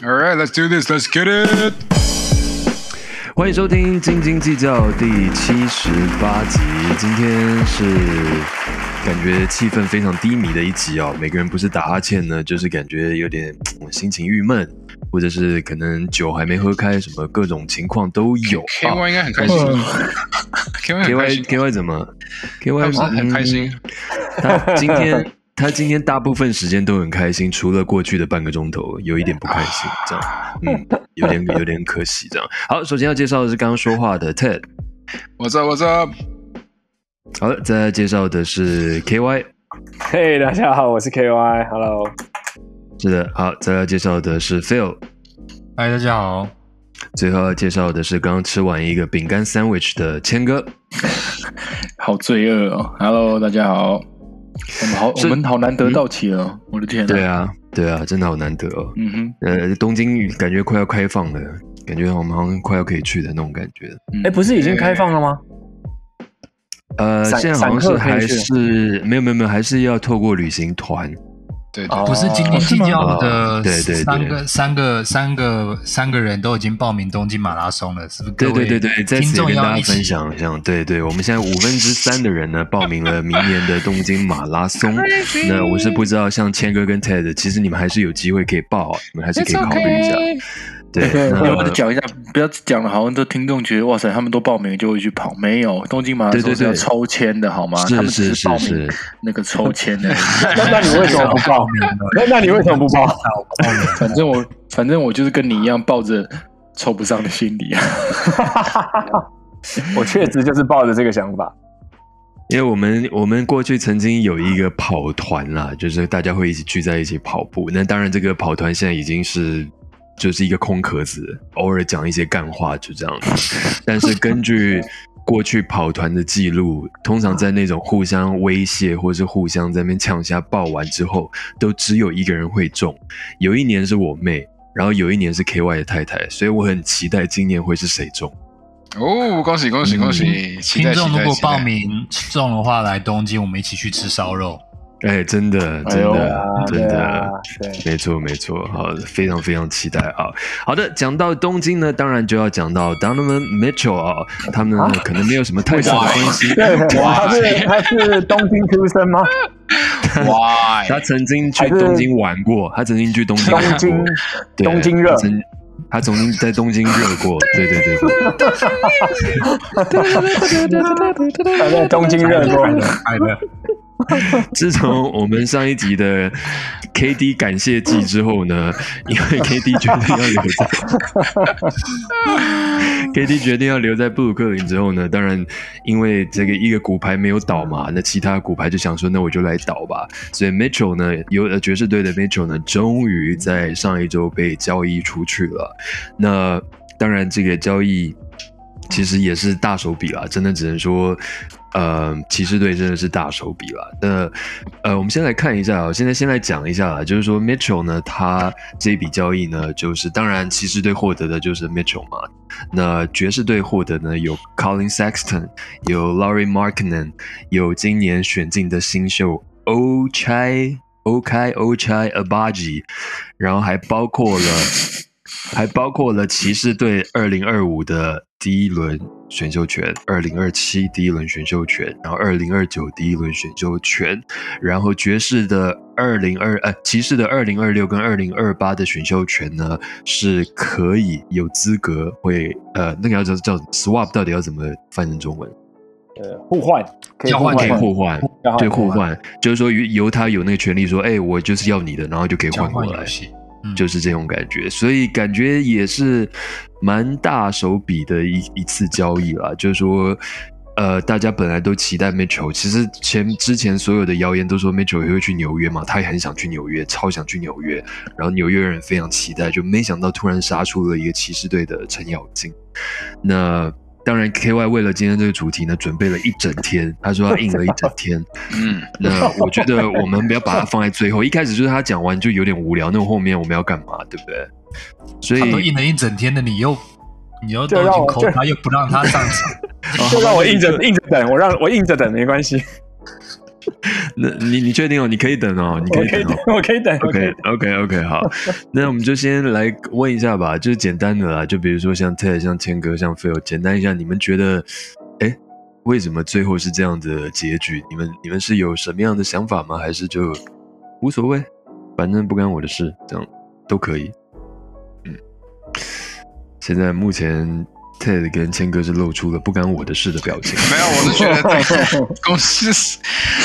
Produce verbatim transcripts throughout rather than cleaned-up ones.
All right, let's do this. Let's get it. 欢迎收听《斤斤计较》第七十八集。今天是感觉气氛非常低迷的一集哦，每个人不是打哈欠呢，就是感觉有点心情郁闷，或者是可能酒还没喝开，什么各种情况都有。 K Y 应该很开心。K Y K Y K Y 怎么 ？K Y 不是很开心。 嗯、他今天他今天大部分时间都很开心，除了过去的半个钟头有一点不开心，这样，嗯，有点有点可惜，这样。好，首先要介绍的是刚刚说话的 Ted。What's up? What's up? 好了，再来介绍的是 K Y。 嘿， hey, 大家好，我是 K Y。Hello。 是的，好，再来介绍的是 Phil。 嗨，大家好。 最后要介绍的是刚刚吃完一个饼干 sandwich 的谦哥。 好罪恶哦 ！Hello， 大家好。我们好，我们好难得到齐了、嗯，我的天、啊！ 对啊，对啊，真的好难得哦。嗯哼，呃，东京感觉快要开放了，感觉我们好像快要可以去的那种感觉。 哎、嗯欸，不是已经开放了吗？ 呃，现在好像是还是没有没有没有，还是要透过旅行团。 对, 对, 对， 不是斤斤计较的对对三个三个三个三个人都已经报名东京马拉松了，是不是？ 对对对对，在此也跟大家分享一下，对对，我们现在五分之三的人呢报名了明年的东京马拉松。那我是不知道，像谦哥跟 Ted， 其实你们还是有机会可以报、啊，你们还是可以考虑一下。对， 要不要讲一下？不要讲了，好像都听众觉得哇塞，他们都报名就会去跑，没有，东京马拉松是要抽签的，好吗？ 是他们只是报名那个抽签的。 那那你为什么不报名呢？那那你为什么不报？ 反正我反正我就是跟你一样，抱着抽不上的心理啊。 我确实就是抱着这个想法。 因为我们我们过去曾经有一个跑团啦，就是大家会一起聚在一起跑步。那当然，这个跑团现在已经是。就是一个空壳子，偶尔讲一些干话就这样子。但是根据过去跑团的记录，通常在那种互相威胁或是互相在那边呛下报完之后，都只有一个人会中。有一年是我妹，然后有一年是 K Y 的太太，所以我很期待今年会是谁中。 哦，恭喜恭喜恭喜！嗯、 听众如果报名中的话，来东京我们一起去吃烧肉。 哎，真的，真的，哎、真的， 啊、 没错，没错，好，非常非常期待啊！好的，讲到东京呢，当然就要讲到 Donovan Mitchell 啊，他们、啊、可能没有什么太大的关系。 他是他是东京出生吗？ 哇， 他曾经去东京玩过，他曾经去东京玩过， 东京东京热， 他曾经在东京热过，对对对对。他在东京热过， 爱的。 自从我们上一集的 K D 感谢季之后呢，因为 K D 决定要留在K D 决定要留在布鲁克林之后呢，当然因为这个一个骨牌没有倒嘛，那其他骨牌就想说那我就来倒吧，所以 Mitchell 呢，有爵士队的 Mitchell 呢，终于在上一周被交易出去了。那当然这个交易其实也是大手笔啦，真的只能说呃，骑士队真的是大手笔啦。那呃，我们先来看一下，现在先来讲一下啦，就是说 Mitchell 呢，他这笔交易呢，就是当然骑士队获得的就是 Mitchell 嘛。那爵士队获得呢有 Colin Sexton， 有 Lauri Markkanen， 有今年选进的新秀 Ochai Ochai Ochai Agbaji， 然后还包括了还包括了骑士队二零二五的第一轮选秀权，二零二七第一轮选秀权，然后二零二九第一轮选秀权，然后爵士的二零二呃骑士的二零二六跟二零二八的选秀权呢是可以有资格会呃那个要叫叫 swap， 到底要怎么翻成中文？ 呃，互换，可以互换， 可以互换，对，互换，就是说由他有那个权利说，哎、欸，我就是要你的，然后就可以换过来。就是这种感觉，所以感觉也是蛮大手笔的一一次交易啦。就是说，呃，大家本来都期待 Mitchell， 其实前之前所有的谣言都说 Mitchell 也会去纽约嘛，他也很想去纽约，超想去纽约，然后纽约人非常期待，就没想到突然杀出了一个骑士队的程咬金。那当然 K Y 为了今天这个主题呢，准备了一整天，他说他印了一整天。嗯，那我觉得我们不要把它放在最后，一开始就是他讲完就有点无聊，那后面我们要干嘛，对不对？所以他都印了一整天的，你又你又都已经扣他，又不让他上场， 就让我硬着硬着等，我让我硬着等没关系。 那你你确定哦？你可以等哦，你可以等哦。 我可以等，我可以 OK OK OK 好，那我们就先来问一下吧，就是简单的啦，就比如说像 Ted、像千哥、像 Phil， 简单一下，你们觉得，哎，为什么最后是这样的结局？你们你们是有什么样的想法吗？还是就无所谓，反正不干我的事，这样都可以。嗯，现在目前 Ted 跟千哥是露出了不干我的事的表情。 没有，我是觉得这个公司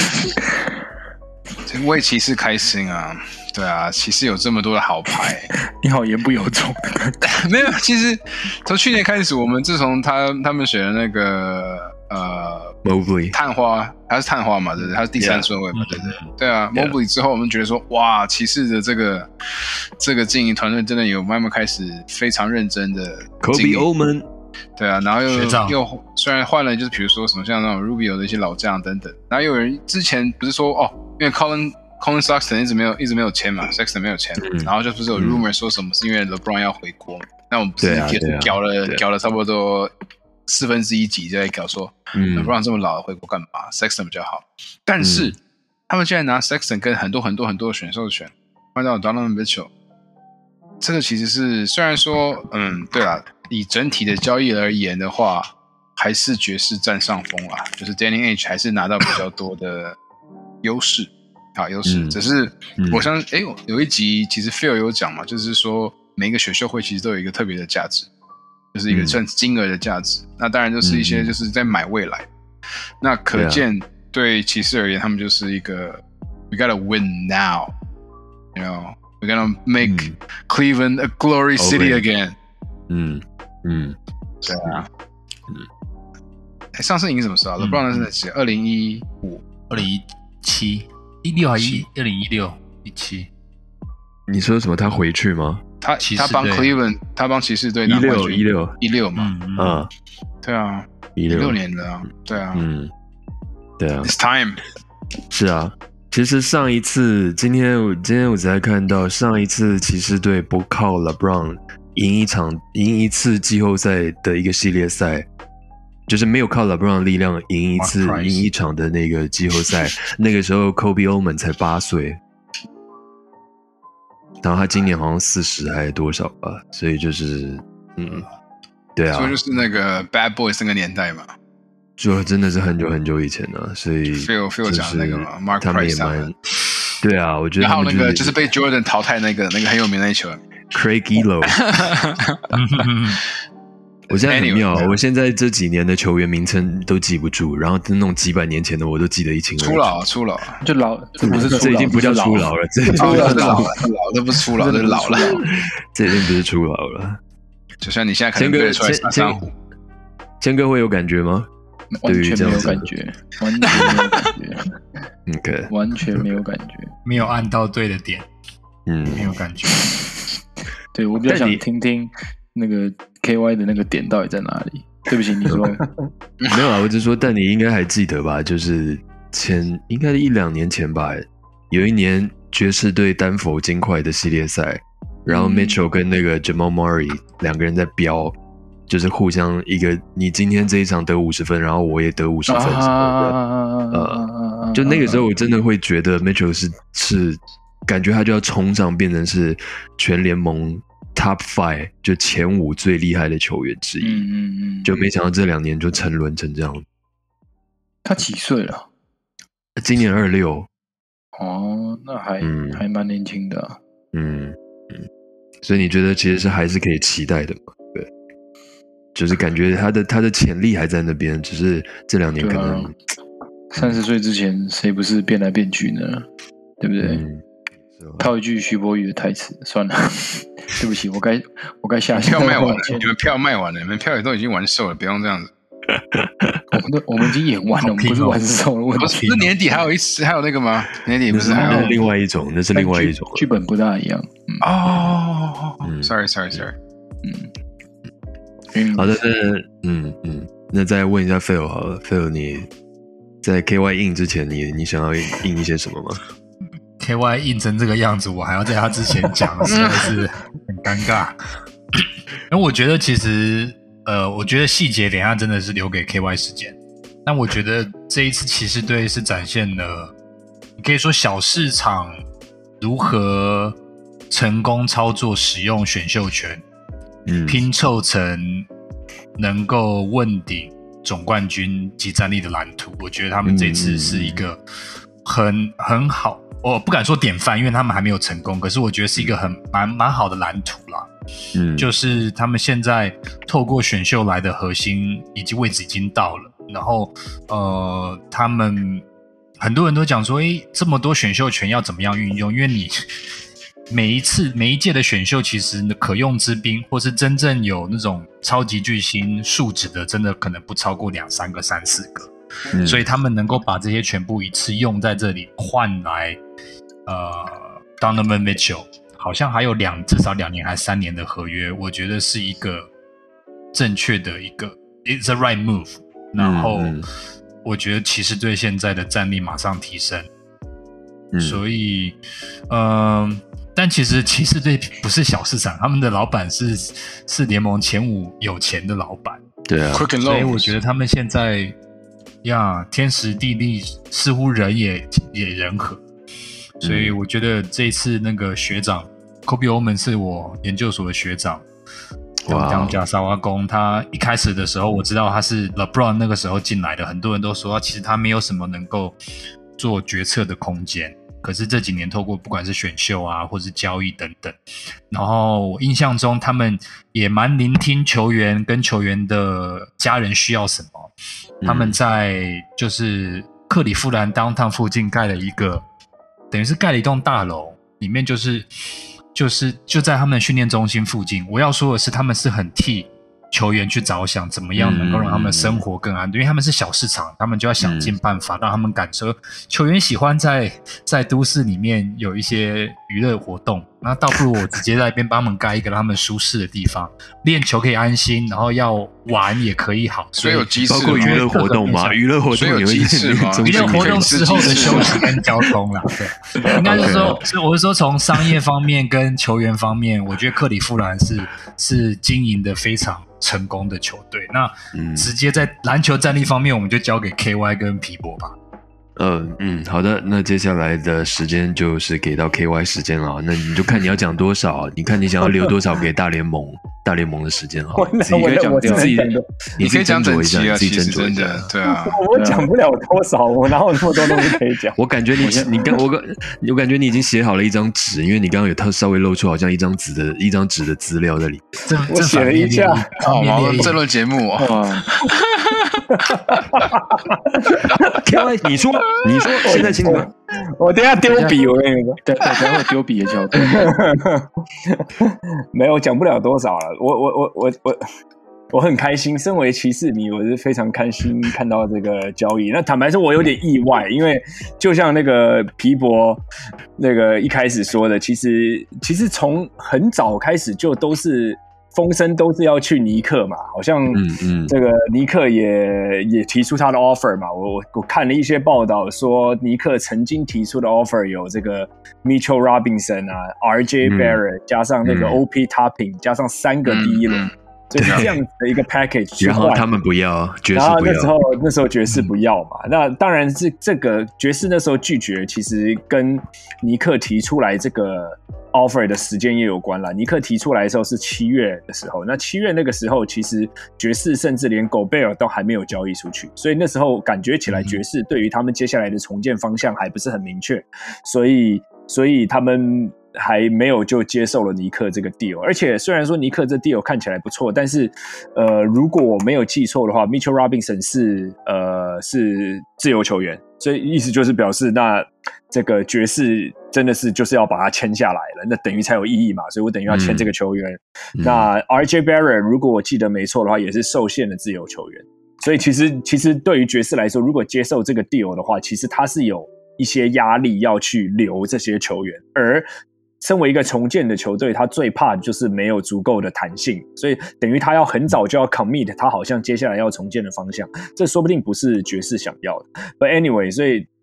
为骑士开心啊。对啊，骑士有这么多的好牌。 你好言不由衷。 没有，其实从去年开始，我们自从他他们选的那个呃 Mobley 探花，他是探花嘛，对不对？他是第三顺位嘛， yeah. 对不对？对啊 Yeah. ，Mobley 之后，我们觉得说，哇，骑士的这个这个经营团队真的有慢慢开始非常认真的经营。 Kobe Oman， 对啊，然后又学长又虽然换了，就是比如说什么像那种 Rubio 的一些老将等等，然后有人之前不是说哦，因为 Colin Colin Sexton 一直没有一直没有签嘛 ，Sexton 没有签， 嗯、 然后就不是有 rumor 说什么是因为 LeBron 要回国，那我们不是搞了搞了差不多四分之一集就在搞说、嗯、LeBron 这么老了回国干嘛 ？Sexton 比较好，但是、嗯、他们现在拿 Sexton 跟很多很多很多的选手选，换到 Donovan Mitchell， 这个其实是虽然说嗯对啦，以整体的交易而言的话，还是爵士占上风啦，就是 Danny Ainge 还是拿到比较多的优势。好优势、嗯，只是我相信，哎、嗯，有一集其实 Phil 有讲嘛，就是说每一个选秀会其实都有一个特别的价值，就是一个算金额的价值、嗯。那当然就是一些就是在买未来。嗯、那可见对骑士而言，他们就是一个 We gotta win now, you know, we gotta make、嗯、Cleveland a glory city again。 嗯嗯， 对啊，嗯。哎，上次赢什么时候、啊、？LeBron 是在几？二零一五、 二零一七。一六还一二零一六一七， 你说什么？他回去吗？ 他他帮 Cleveland， 他帮骑士队一六一六一六嘛， 嗯啊， 对啊，一六年的啊，对啊， 嗯，对啊 ，It's time， 是啊。其实上一次，今天我今天我才看到，上一次骑士队不靠 LeBron 赢一场赢一次季后赛的一个系列赛。就是没有靠 LeBron 的力量赢一次赢一场的那个季后赛，那个时候 Kobe Oman 才八岁，然后他今年好像四十还是多少吧，所以就是嗯，对啊， 所以就是那个 Bad Boys 那个年代嘛， 就真的是很久很久以前了，所以 Phil Phil 讲那个嘛 ，Mark 他们也蛮，对啊，我觉得还有那个就是被 Jordan 淘汰那个那个很有名的那球 Craig Elo。我现在很妙， anyway, 我现在这几年的球员名称都记不住，然后那种几百年前的我都记得一清二楚。 初老，初老， 就老，这不是这已经不叫初老了，这已经老了，老了，这不是初老，这是老了， 这已经不是初老了。 就像你现在可能对得出来三三虎， 千哥会有感觉吗？ 完全没有感觉，完全没有感觉 ，OK， 完全没有感觉， 没有按到对的点， 嗯， 没有感觉。 对我比较想听听。那个 K Y 的那个点到底在哪里？对不起，你说没有啊？我只是说，但你应该还记得吧？就是前应该一两年前吧，有一年爵士对丹佛金块的系列赛，然后 Mitchell 跟那个 Jamal Murray 两个人在飙，就是互相一个你今天这一场得五十分，然后我也得五十分什么的。啊、呃，就那个时候我真的会觉得 Mitchell 是是感觉他就要冲上，变成是全联盟。Top five 就前五最厉害的球员之一， 嗯嗯嗯， 就没想到这两年就沉沦成这样。 他几岁了？ 今年二六。 哦，那还、嗯、还蛮年轻的、啊。 嗯嗯，所以你觉得其实是还是可以期待的嘛？对，就是感觉他的他的潜力还在那边，只是这两年可能三十岁之前谁不是变来变去呢？对不对？ 嗯套一句徐柏宇的台词，算了，对不起，我该我该下票卖完了，你们票卖完了，你们票也都已经完售了，不用这样子。 我们都我们已经演完了，我们不是完售了。我不是，那年底还有一次，还有那个吗？年底不是还有另外一种，那是另外一种剧本不大一样。 哦、嗯 oh, ，sorry sorry sorry， 嗯， 好的，那嗯嗯，那再问一下 Phil 好了 ，Phil 你在 K Y 印之前，你你想要印一些什么吗 ？K Y 印成这个样子，我还要在他之前讲，实在是很尴尬。因为我觉得其实，呃，我觉得细节等一下真的是留给 K Y 时间。但我觉得这一次骑士队是展现了你可以说小市场如何成功操作使用选秀权，嗯，拼凑成能够问鼎总冠军及战力的蓝图。我觉得他们这次是一个很很好，我不敢说典范，因为他们还没有成功，可是我觉得是一个很蛮蛮好的蓝图啦。嗯，就是他们现在透过选秀来的核心以及位置已经到了，然后呃，他们很多人都讲说，诶，这么多选秀权要怎么样运用？因为你每一次每一届的选秀，其实可用之兵，或是真正有那种超级巨星素质的，真的可能不超过两三个、三四个。嗯，所以他们能够把这些全部一次用在这里，换来呃 Donovan Mitchell。好像还有两至少两年还三年的合约，我觉得是一个正确的一个 it's a right move。然后我觉得骑士队现在的战力马上提升，嗯、所以嗯、呃，但其实骑士队不是小市场，他们的老板是是联盟前五有钱的老板， 对啊， 所以我觉得他们现在呀天时地利似乎人也也人和。所以我觉得这一次那个学长 Kobe Oman 是我研究所的学长，当加沙瓦公，他一开始的时候我知道他是 LeBron 那个时候进来的，很多人都说其实他没有什么能够做决策的空间，可是这几年透过不管是选秀啊或是交易等等，然后我印象中他们也蛮聆听球员跟球员的家人需要什么，他们在就是克里夫兰 downtown 附近盖了一个等于是盖了一栋大楼，里面就是就是就在他们的训练中心附近。我要说的是，他们是很替球员去着想，怎么样能够让他们生活更安顿，因为他们是小市场，他们就要想尽办法让他们感受球员喜欢在在都市里面有一些娱乐活动，那倒不如我直接在那边帮他们盖一个让他们舒适的地方，练球可以安心，然后要玩也可以好， 所以有鸡翅， 包括娱乐活动嘛，娱乐活动有鸡翅吗？ 娱乐活动之后的休息跟交通啦，对，应该是说，是我是说从商业方面跟球员方面，我觉得克里夫兰是是经营的非常成功的球队。那直接在篮球战力方面，我们就交给 K Y 跟皮博吧。 嗯嗯，好的，那接下来的时间就是给到 K Y 时间了，那你就看你要讲多少，你看你想要留多少给大联盟大联盟的时间好了，自己可以讲自己， 你可以讲整集啊， 自己斟酌一下， 对啊， 我讲不了多少，我哪有那么多东西可以讲？ 我感觉你你刚我我感觉你已经写好了一张纸，因为你刚刚有他稍微露出好像一张纸的一张纸的资料在里面， 我写了一下， 哦，这轮节目啊。 K Y 你说你说现在请你们， 我等一下丢笔，我跟你说， 对，等下会丢笔的角度， 没有讲不了多少了。我我我我我我很开心，身为骑士迷，我是非常开心看到这个交易。那坦白说，我有点意外，因为就像那个皮博那个一开始说的，其实其实从很早开始就都是。风声都是要去尼克嘛，好像这个尼克也也提出他的 offer 嘛。我我看了一些报道说，尼克曾经提出的 offer 有这个 Mitchell Robinson 啊 ，R J Barrett、嗯、加上那个 O P Topping、嗯、加上三个第一轮。嗯所以这样子的一个 package， 然后他们不要，爵士不要。 然后那时候那时候爵士不要嘛，嗯、那当然是这个爵士那时候拒绝，其实跟尼克提出来这个 offer 的时间也有关啦。尼克提出来的时候是七月的时候，那七月那个时候其实爵士甚至连 Gobert 都还没有交易出去，所以那时候感觉起来爵士对于他们接下来的重建方向还不是很明确，所以所以他们。还没有就接受了尼克这个 deal， 而且虽然说尼克这 deal 看起来不错，但是呃，如果我没有记错的话 ，Mitchell Robinson 是呃是自由球员，所以意思就是表示那这个爵士真的是就是要把他签下来了，那等于才有意义嘛，所以我等于要签这个球员。嗯、那 R J Barrett 如果我记得没错的话，也是受限的自由球员，所以其实其实对于爵士来说，如果接受这个 deal 的话，其实他是有一些压力要去留这些球员，而身为一个重建的球队，他最怕的就是没有足够的弹性，所以等于他要很早就要 commit 他好像接下来要重建的方向，这说不定不是爵士想要的。But anyway， 所以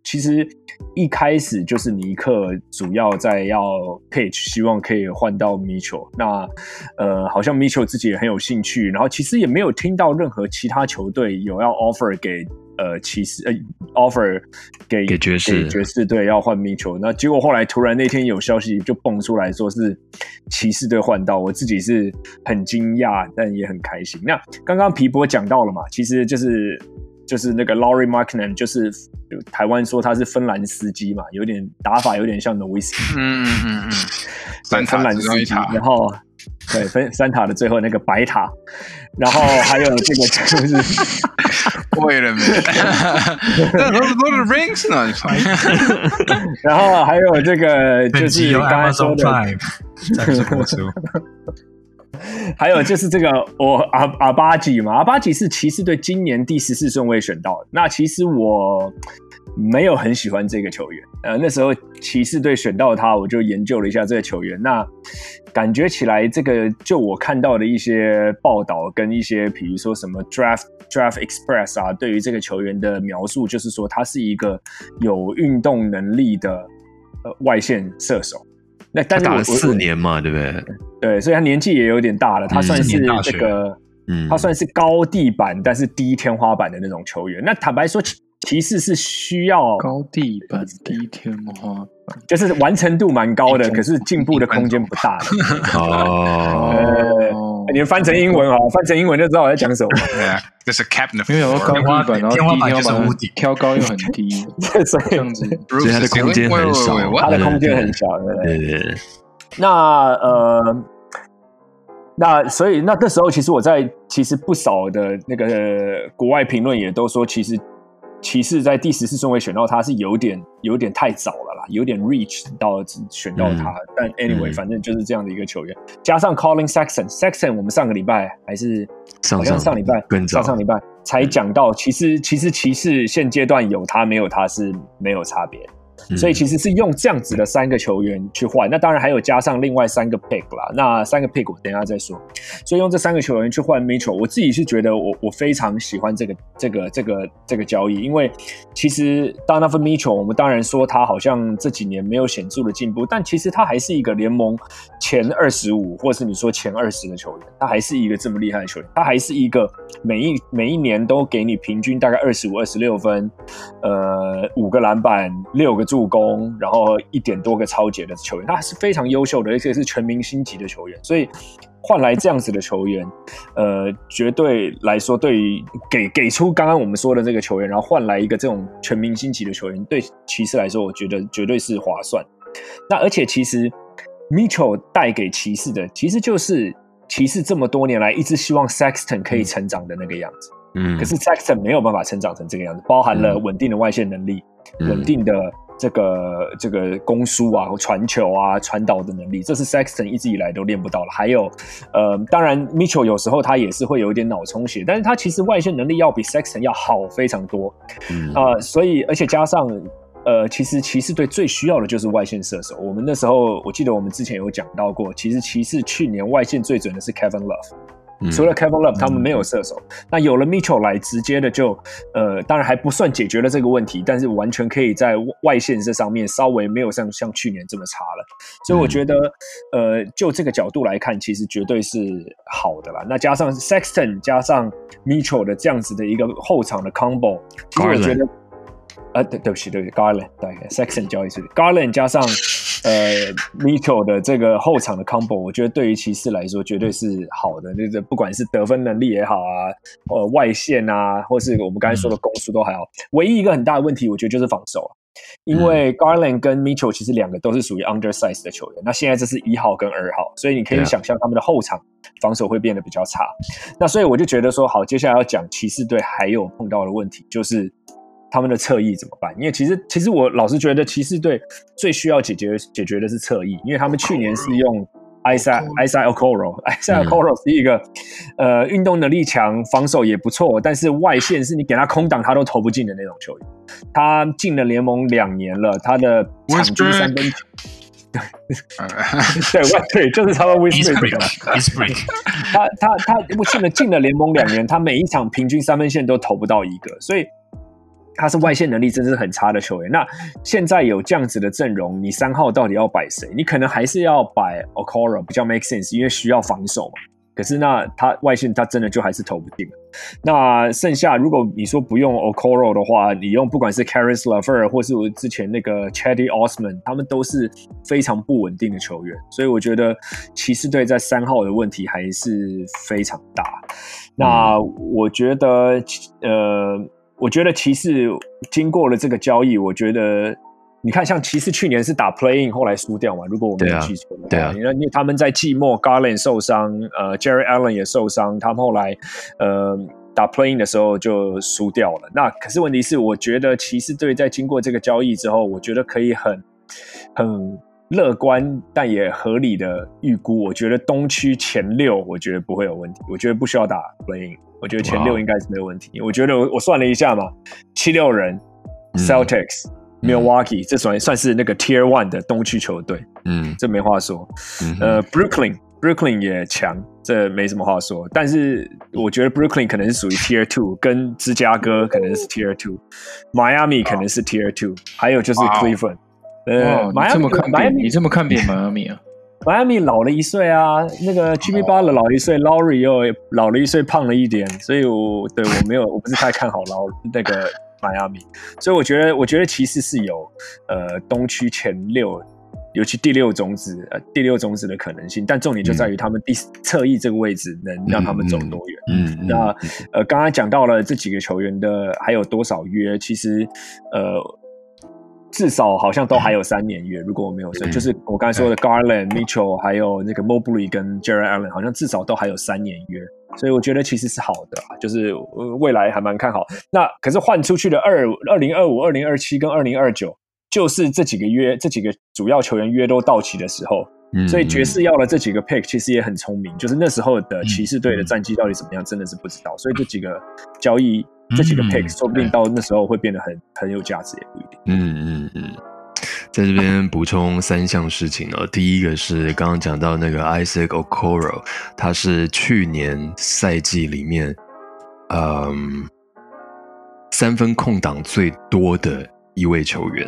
其实一开始就是尼克主要在要 pitch， 希望可以换到 Mitchell。那呃，好像 Mitchell 自己也很有兴趣，然后其实也没有听到任何其他球队有要 offer 给呃骑士呃 offer 给给爵士给爵士队要换 Mitchell。那结果后来突然那天有消息就蹦出来说是骑士队换到，我自己是很惊讶，但也很开心。那刚刚皮博讲到了嘛，其实就是。就是那个 Lauri Markkanen， 就是台湾说他是芬兰司机嘛，有点打法有点像 Nowitzki， 嗯嗯嗯嗯， 三芬兰司机，然后对分三塔的最后那个白塔，然后还有这个就是 ，Wait a minute，Lord of the Rings 呢？ 然后还有这个就是刚才说的， 赞助播出。 还有就是这个我阿阿巴吉嘛，阿巴吉是骑士队今年第十四顺位选到的。那其实我没有很喜欢这个球员，呃，那时候骑士队选到他，我就研究了一下这个球员。那感觉起来，这个就我看到的一些报道跟一些，比如说什么 Draft Draft Express 啊，对于这个球员的描述，就是说他是一个有运动能力的呃外线射手。那但是他打了四年嘛，对不对？ 对，所以他年纪也有点大了，他算是这个， 嗯， 他算是高地板但是低天花板的那种球员。那坦白说，骑士是需要高地板低天花板， 就是完成度蛮高的，可是进步的空间不大的。 哦， 呃，你们翻成英文好，翻成英文就知道我在讲什么。 对啊，这是 Captain， 因为有高地板，然后低天花板挑高又很低， 所以这样子， 所以他的空间很少， 他的空间很小，对不对？ 对对对。 那呃。那所以那那时候其实我在其实不少的那个国外评论也都说，其实骑士在第十四顺位选到他是有点有点太早了啦，有点 reach 到选到他。嗯、但 anyway，、嗯、反正就是这样的一个球员，加上 Colin Sexton，Sexton 我们上个礼拜还是好像上礼拜上上礼拜才讲到，其实其实骑士现阶段有他没有他是没有差别。所以其实是用这样子的三个球员去换，那当然还有加上另外三个 pick 啦，那三个 pick 我等一下再说。所以用这三个球员去换 Mitchell， 我自己是觉得我我非常喜欢这个这个这个这个交易，因为其实 Donovan Mitchell 我们当然说他好像这几年没有显著的进步，但其实他还是一个联盟前二十五或是你说前二十的球员，他还是一个这么厉害的球员，他还是一个每一每一年都给你平均大概二十五、二十六分，呃，五个篮板，六个助攻，然后一点多个抄截的球员，他是非常优秀的，而且是全明星级的球员。所以换来这样子的球员，呃，绝对来说，对于给给出刚刚我们说的这个球员，然后换来一个这种全明星级的球员，对骑士来说，我觉得绝对是划算。那而且其实 Mitchell 带给骑士的，其实就是骑士这么多年来一直希望 Sexton 可以成长的那个样子。嗯，可是 Sexton 没有办法成长成这个样子，包含了稳定的外线能力，嗯、稳定的这个这个攻输啊、传球啊、传导的能力，这是 Sexton 一直以来都练不到了。还有，呃，当然 Mitchell 有时候他也是会有一点脑充血，但是他其实外线能力要比 Sexton 要好非常多。嗯啊、呃，所以而且加上。呃，其实骑士队最需要的就是外线射手。我们那时候，我记得我们之前有讲到过，其实骑士去年外线最准的是 Kevin Love，、嗯、除了 Kevin Love， 他们没有射手。嗯、那有了 Mitchell 来，直接的就，呃，当然还不算解决了这个问题，但是完全可以在外线这上面稍微没有像像去年这么差了。所以我觉得，嗯、呃，就这个角度来看，其实绝对是好的啦。那加上 Sexton 加上 Mitchell 的这样子的一个后场的 combo， 其实我觉得。呃，对，对不起，对不起 ，Garland， 对 ，Sexton 交易是 Garland 加上呃 Mitchell 的这个后场的 combo， 我觉得对于骑士来说绝对是好的，就是不管是得分能力也好啊，呃，外线啊，或是我们刚才说的攻速都还好。唯一一个很大的问题，我觉得就是防守啊，因为 Garland 跟 Mitchell 其实两个都是属于 undersize 的球员，那现在这是一号跟二号，所以你可以想象他们的后场防守会变得比较差。那所以我就觉得说，好，接下来要讲骑士队还有碰到的问题就是。他们的侧翼怎么办？因为其实，其实我老是觉得骑士队最需要解决解决的是侧翼，因为他们去年是用 Isaiah Isaiah Okoro，Isaiah Okoro 是一个呃运动能力强，防守也不错，但是外线是你给他空档他都投不进的那种球员。他进了联盟两年了，他的场均三分球。对，对，就是他们 Westbrook， 他他他进了进了联盟两年，他每一场平均三分线都投不到一个，所以。 他是外线能力真的是很差的球员。那现在有这样子的阵容，你三号到底要摆谁？你可能还是要摆 Okoro 比较 make sense， 因为需要防守嘛。可是那他外线他真的就还是投不进。那剩下如果你说不用 Okoro 的话，你用不管是 Caris LeVert 或是我之前那个 Cedi Osman， 他们都是非常不稳定的球员，所以我觉得骑士队在三号的问题还是非常大。那我觉得呃，我觉得骑士经过了这个交易，我觉得。你看，像骑士去年是打 play-in 后来输掉嘛？如果我没有记错的话， 对啊， 因为他们在季末 Garland 受伤，呃 ，Jerry Allen 也受伤，他们后来呃打 play-in 的时候就输掉了。那可是问题是，我觉得骑士队在经过这个交易之后，我觉得可以很很乐观但也合理的预估，我觉得东区前六，我觉得不会有问题，我觉得不需要打 play-in， 我觉得前六应该是没有问题。Wow. 我觉得我我算了一下嘛，七六人、嗯、Celtics。Milwaukee 这算算是那个 Tier One 的东区球队，嗯，这没话说。嗯、呃 ，Brooklyn Brooklyn 也强，这没什么话说。但是我觉得 Brooklyn 可能是属于 Tier Two， 跟芝加哥可能是 Tier Two，Miami 可能是 Tier Two， 还有就是 Cleveland。 呃，你这么看扁，你这么看扁 Miami 啊 ？Miami 老了一岁啊，那个 Jimmy Butler 老了一岁 ，Lowry 又老了一岁，胖了一点，所以我对我没有，我不是太看好劳那个。Miami， 所以我觉得，我觉得骑士是有呃东区前六，尤其第六种子，呃第六种子的可能性。但重点就在于他们第侧翼这个位置能让他们走多远。嗯，嗯嗯那呃刚刚讲到了这几个球员的还有多少约，其实呃至少好像都还有三年约。如果我没有错，嗯、就是我刚才说的 Garland、Mitchell 还有那个 Mobley 跟 Jarrett Allen， 好像至少都还有三年约。所以我觉得其实是好的，就是未来还蛮看好。那可是换出去的二二零二五、二零二七跟二零二九，就是这几个约，这几个主要球员约都到期的时候。嗯、所以爵士要了这几个 pick， 其实也很聪明。就是那时候的骑士队的战绩到底怎么样，真的是不知道。所以这几个交易，这几个 pick， 说不定到那时候会变得很很有价值，也不一定。 嗯嗯嗯。在这边补充三项事情哦，第一个是刚刚讲到那个 Isaac Okoro， 他是去年赛季里面，嗯，三分空档最多的一位球员，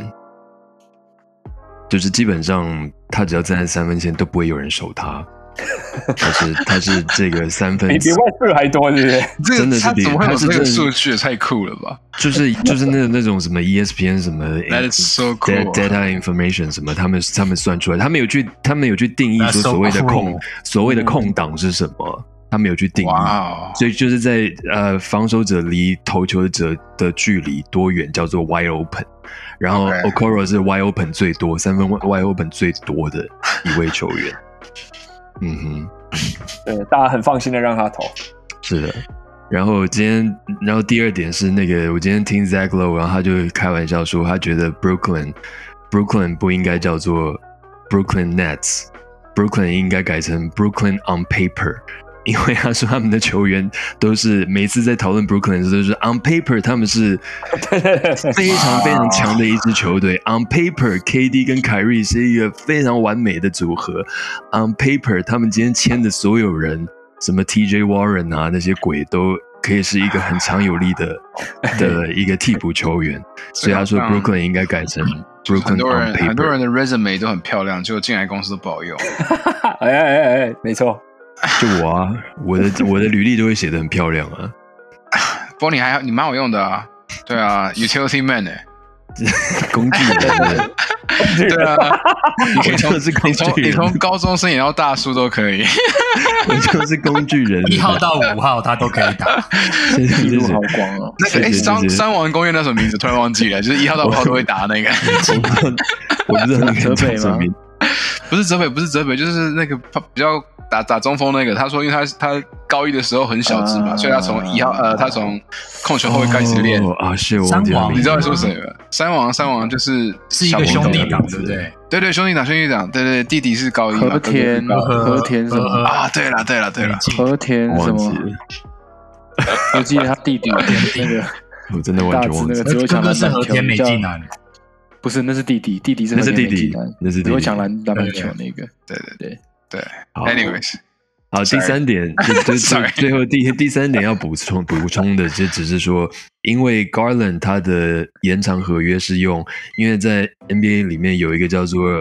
就是基本上他只要站在三分线都不会有人守他。他是他是这个三分， 比比外数还多，对不对？ 真的是比他怎么会有这个数据？太酷了吧！ 就是就是那那种什么 E S P N 什么 That is so cool data information 什么，他们他们算出来，他们有去他们有去定义说所谓的空、so cool. 所谓的空档是什么，他们有去定义。Wow. 所以就是在呃防守者离投球者的距离多远叫做 wide open， 然后 Okoro 是 wide open 最多，三分 wide open 最多的一位球员。嗯哼， 对，大家很放心的让他投。 是的，然后今天，然后第二点是那个，我今天听 Zach Lowe， 然后他就开玩笑说，他觉得 Brooklyn Brooklyn 不应该叫做 Brooklyn Nets，Brooklyn 应该改成 Brooklyn on paper。因为他说他们的球员都是每次在讨论 Brooklyn 的时候都是 on paper 他们是非常非常强的一支球队on paper K D 跟凯瑞是一个非常完美的组合 on paper 他们今天签的所有人什么 T J Warren 啊那些鬼都可以是一个很强有力的的一个替补球员所以他说 Brooklyn 应该改成 Brooklyn 很多人 on paper 很多人的 resume 都很漂亮结果进来公司都不好用哎哎哎哎没错就我啊，我的我的履历都会写得很漂亮啊。 不过你还你蛮好用的啊，对啊 ，utility man 哎、 欸，工具人， 对啊，你可以从你从你从高中生演到大叔都可以， 我就是工具人， 一号到五号他都可以打， 一路好光哦。 那个哎，三三王公园那什么名字突然忘记了，就是一号到五号都会打那个， 我不知道泽北吗？ 不是泽北，不是泽北，就是那个比较。打打中锋那个，他说，因为他他高一的时候很小只嘛，啊、所以他从一号呃，他从控球后卫开始练、 哦、啊，是我三王， 你知道说谁吗？三王三王就是是一个兄弟党，对不对？ 对对，兄弟党兄弟党，对对，弟弟是高一嘛， 和田和田什么啊？对了对了对了， 和田什么？我记得他弟弟那个， 我真的完全忘记了，只会抢篮板球， 美纪男。 不是，那是弟弟，弟弟是那是弟弟，那是弟弟， 只会抢篮篮板球那个， 对对对。对 ，anyways， 好，第三点就就最后第第三点要补充补充的，就只是说因为 Garland 他的延长合约是用，因为在 N B A 里面有一个叫做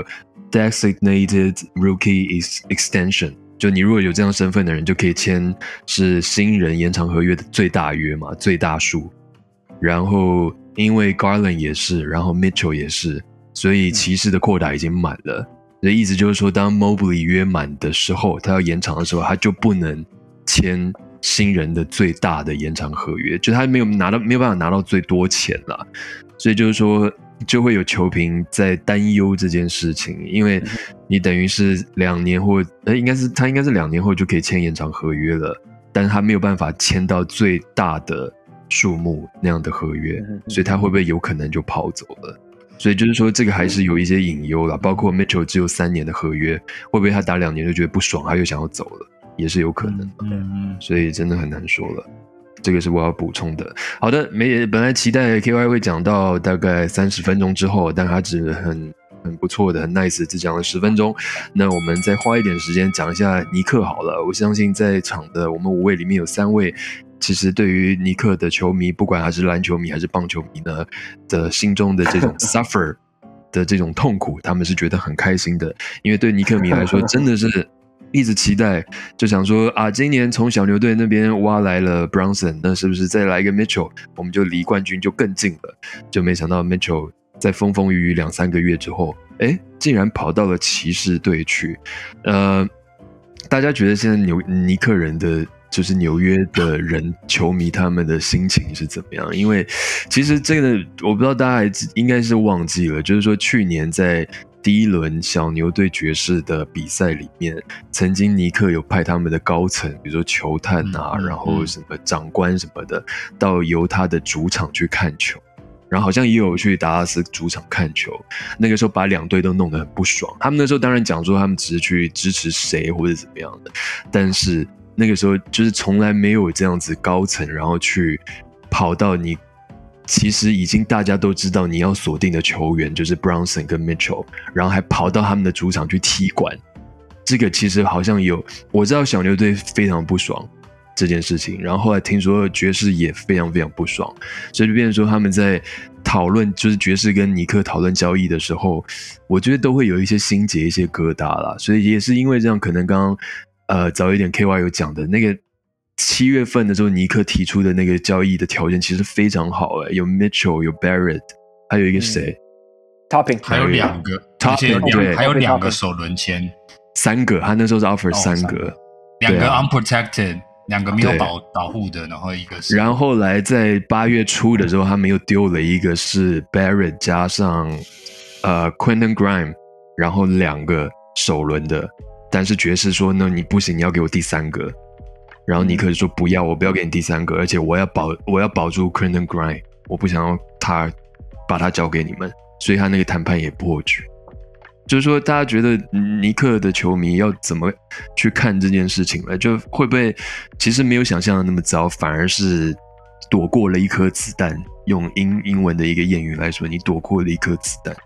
Designated Rookie Extension， 就你如果有这样身份的人就可以签是新人延长合约的最大约嘛，最大数。然后因为 Garland 也是，然后 Mitchell 也是，所以骑士的扩打已经满了。所以意思就是说，当 Mobley 约满的时候，他要延长的时候，他就不能签新人的最大的延长合约，就他没有拿到，没有办法拿到最多钱啦。所以就是说，就会有球评在担忧这件事情，因为你等于是两年或呃，应该是他应该是两年后就可以签延长合约了，但是他没有办法签到最大的数目那样的合约，所以他会不会有可能就跑走了？所以就是说，这个还是有一些隐忧啦，包括 Mitchell 只有三年的合约，会不会他打两年就觉得不爽，他又想要走了，也是有可能的。嗯，所以真的很难说了。这个是我要补充的。好的，没本来期待 K Y 会讲到大概三十分钟之后，但他只很很不错的、很 nice， 只讲了十分钟。那我们再花一点时间讲一下尼克好了。我相信在场的我们五位里面有三位。其实对于尼克的球迷，不管他是篮球迷还是棒球迷呢的心中的这种 suffer 的这种痛苦，他们是觉得很开心的，因为对尼克迷来说真的是一直期待，就想说啊，今年从小牛队那边挖来了 Brunson， 那是不是再来一个 Mitchell， 我们就离冠军就更近了？就没想到 Mitchell 在风风雨雨两三个月之后，哎，竟然跑到了骑士队去。呃，大家觉得现在纽尼克人的就是纽约的人球迷他们的心情是怎么样？因为其实这个我不知道大家还应该是忘记了，就是说去年在第一轮小牛对爵士的比赛里面，曾经尼克有派他们的高层，比如说球探啊，嗯、然后什么长官什么的，到犹他的主场去看球。然后好像也有去达拉斯主场看球，那个时候把两队都弄得很不爽。他们那时候当然讲说他们只是去支持谁或者怎么样的，但是那个时候就是从来没有这样子高层，然后去跑到你其实已经大家都知道你要锁定的球员就是 Brunson 跟 Mitchell， 然后还跑到他们的主场去踢馆。这个其实好像有，我知道小牛队非常不爽这件事情，然后后来听说爵士也非常非常不爽，所以就变成说他们在讨论，就是爵士跟尼克讨论交易的时候，我觉得都会有一些心结、一些疙瘩啦。所以也是因为这样，可能刚刚呃早一点 K Y 有讲的那个七月份的时候，尼克提出的那个交易的条件其实非常好诶、欸，有 Mitchell， 有 Barrett， 还有一个谁、嗯、 Topping， 还有两个 Topping， 对， 还有两个首轮签， 三个，他那时候是 offer 三个， 两个 unprotected。两个没有保保护的，然后一个是， 然后后来在八月初的时候，他们又丢了一个是 Barrett 加上呃 Quentin Grimes， 然后两个首轮的，但是爵士说那你不行，你要给我第三个，然后尼克就说不要，我不要给你第三个，而且我要保我要保住 Quentin Grimes， 我不想要他把他交给你们，所以他那个谈判也破局。就是说，大家觉得尼克的球迷要怎么去看这件事情呢？就会不会其实没有想象的那么糟，反而是躲过了一颗子弹？用英英文的一个谚语来说，你躲过了一颗子弹。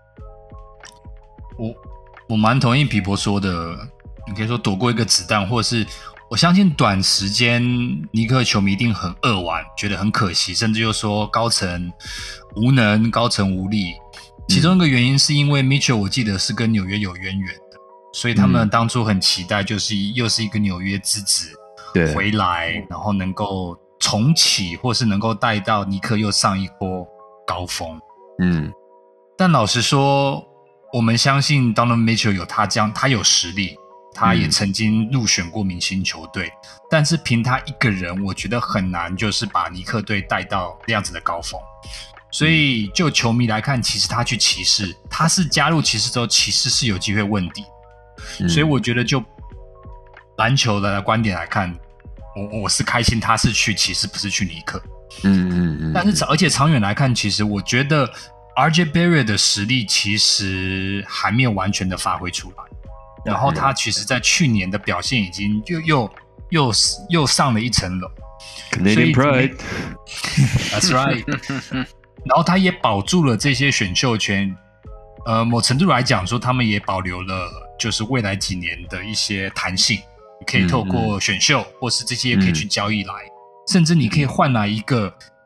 我我蛮同意皮博说的，你可以说躲过一个子弹，或是我相信短时间尼克球迷一定很扼腕，觉得很可惜，甚至又说高层无能、高层无力。其中一个原因是因为 Mitchell 我记得是跟纽约有渊源的，所以他们当初很期待就是又是一个纽约之子回来，然后能够重启或是能够带到尼克又上一波高峰。嗯，但老实说我们相信 Donovan Mitchell 有他这样，他有实力，他也曾经入选过明星球队、嗯、但是凭他一个人我觉得很难就是把尼克队带到这样子的高峰。所以就球迷来看，其实他去骑士，他是加入骑士之后，骑士是有机会问鼎、嗯、所以我觉得就篮球的观点来看，我我是开心他是去骑士，不是去尼克。嗯嗯嗯。但是而且长远来看，其实我觉得 R J Barrett 的实力其实还没有完全的发挥出来，然后他其实在去年的表现已经又又又又上了一层楼。 Canadian Pride That's right 然后他也保住了这些选秀权，呃，某程度来讲说，他们也保留了就是未来几年的一些弹性，你可以透过选秀、嗯、或是这些可以去交易来、嗯、甚至你可以换来一个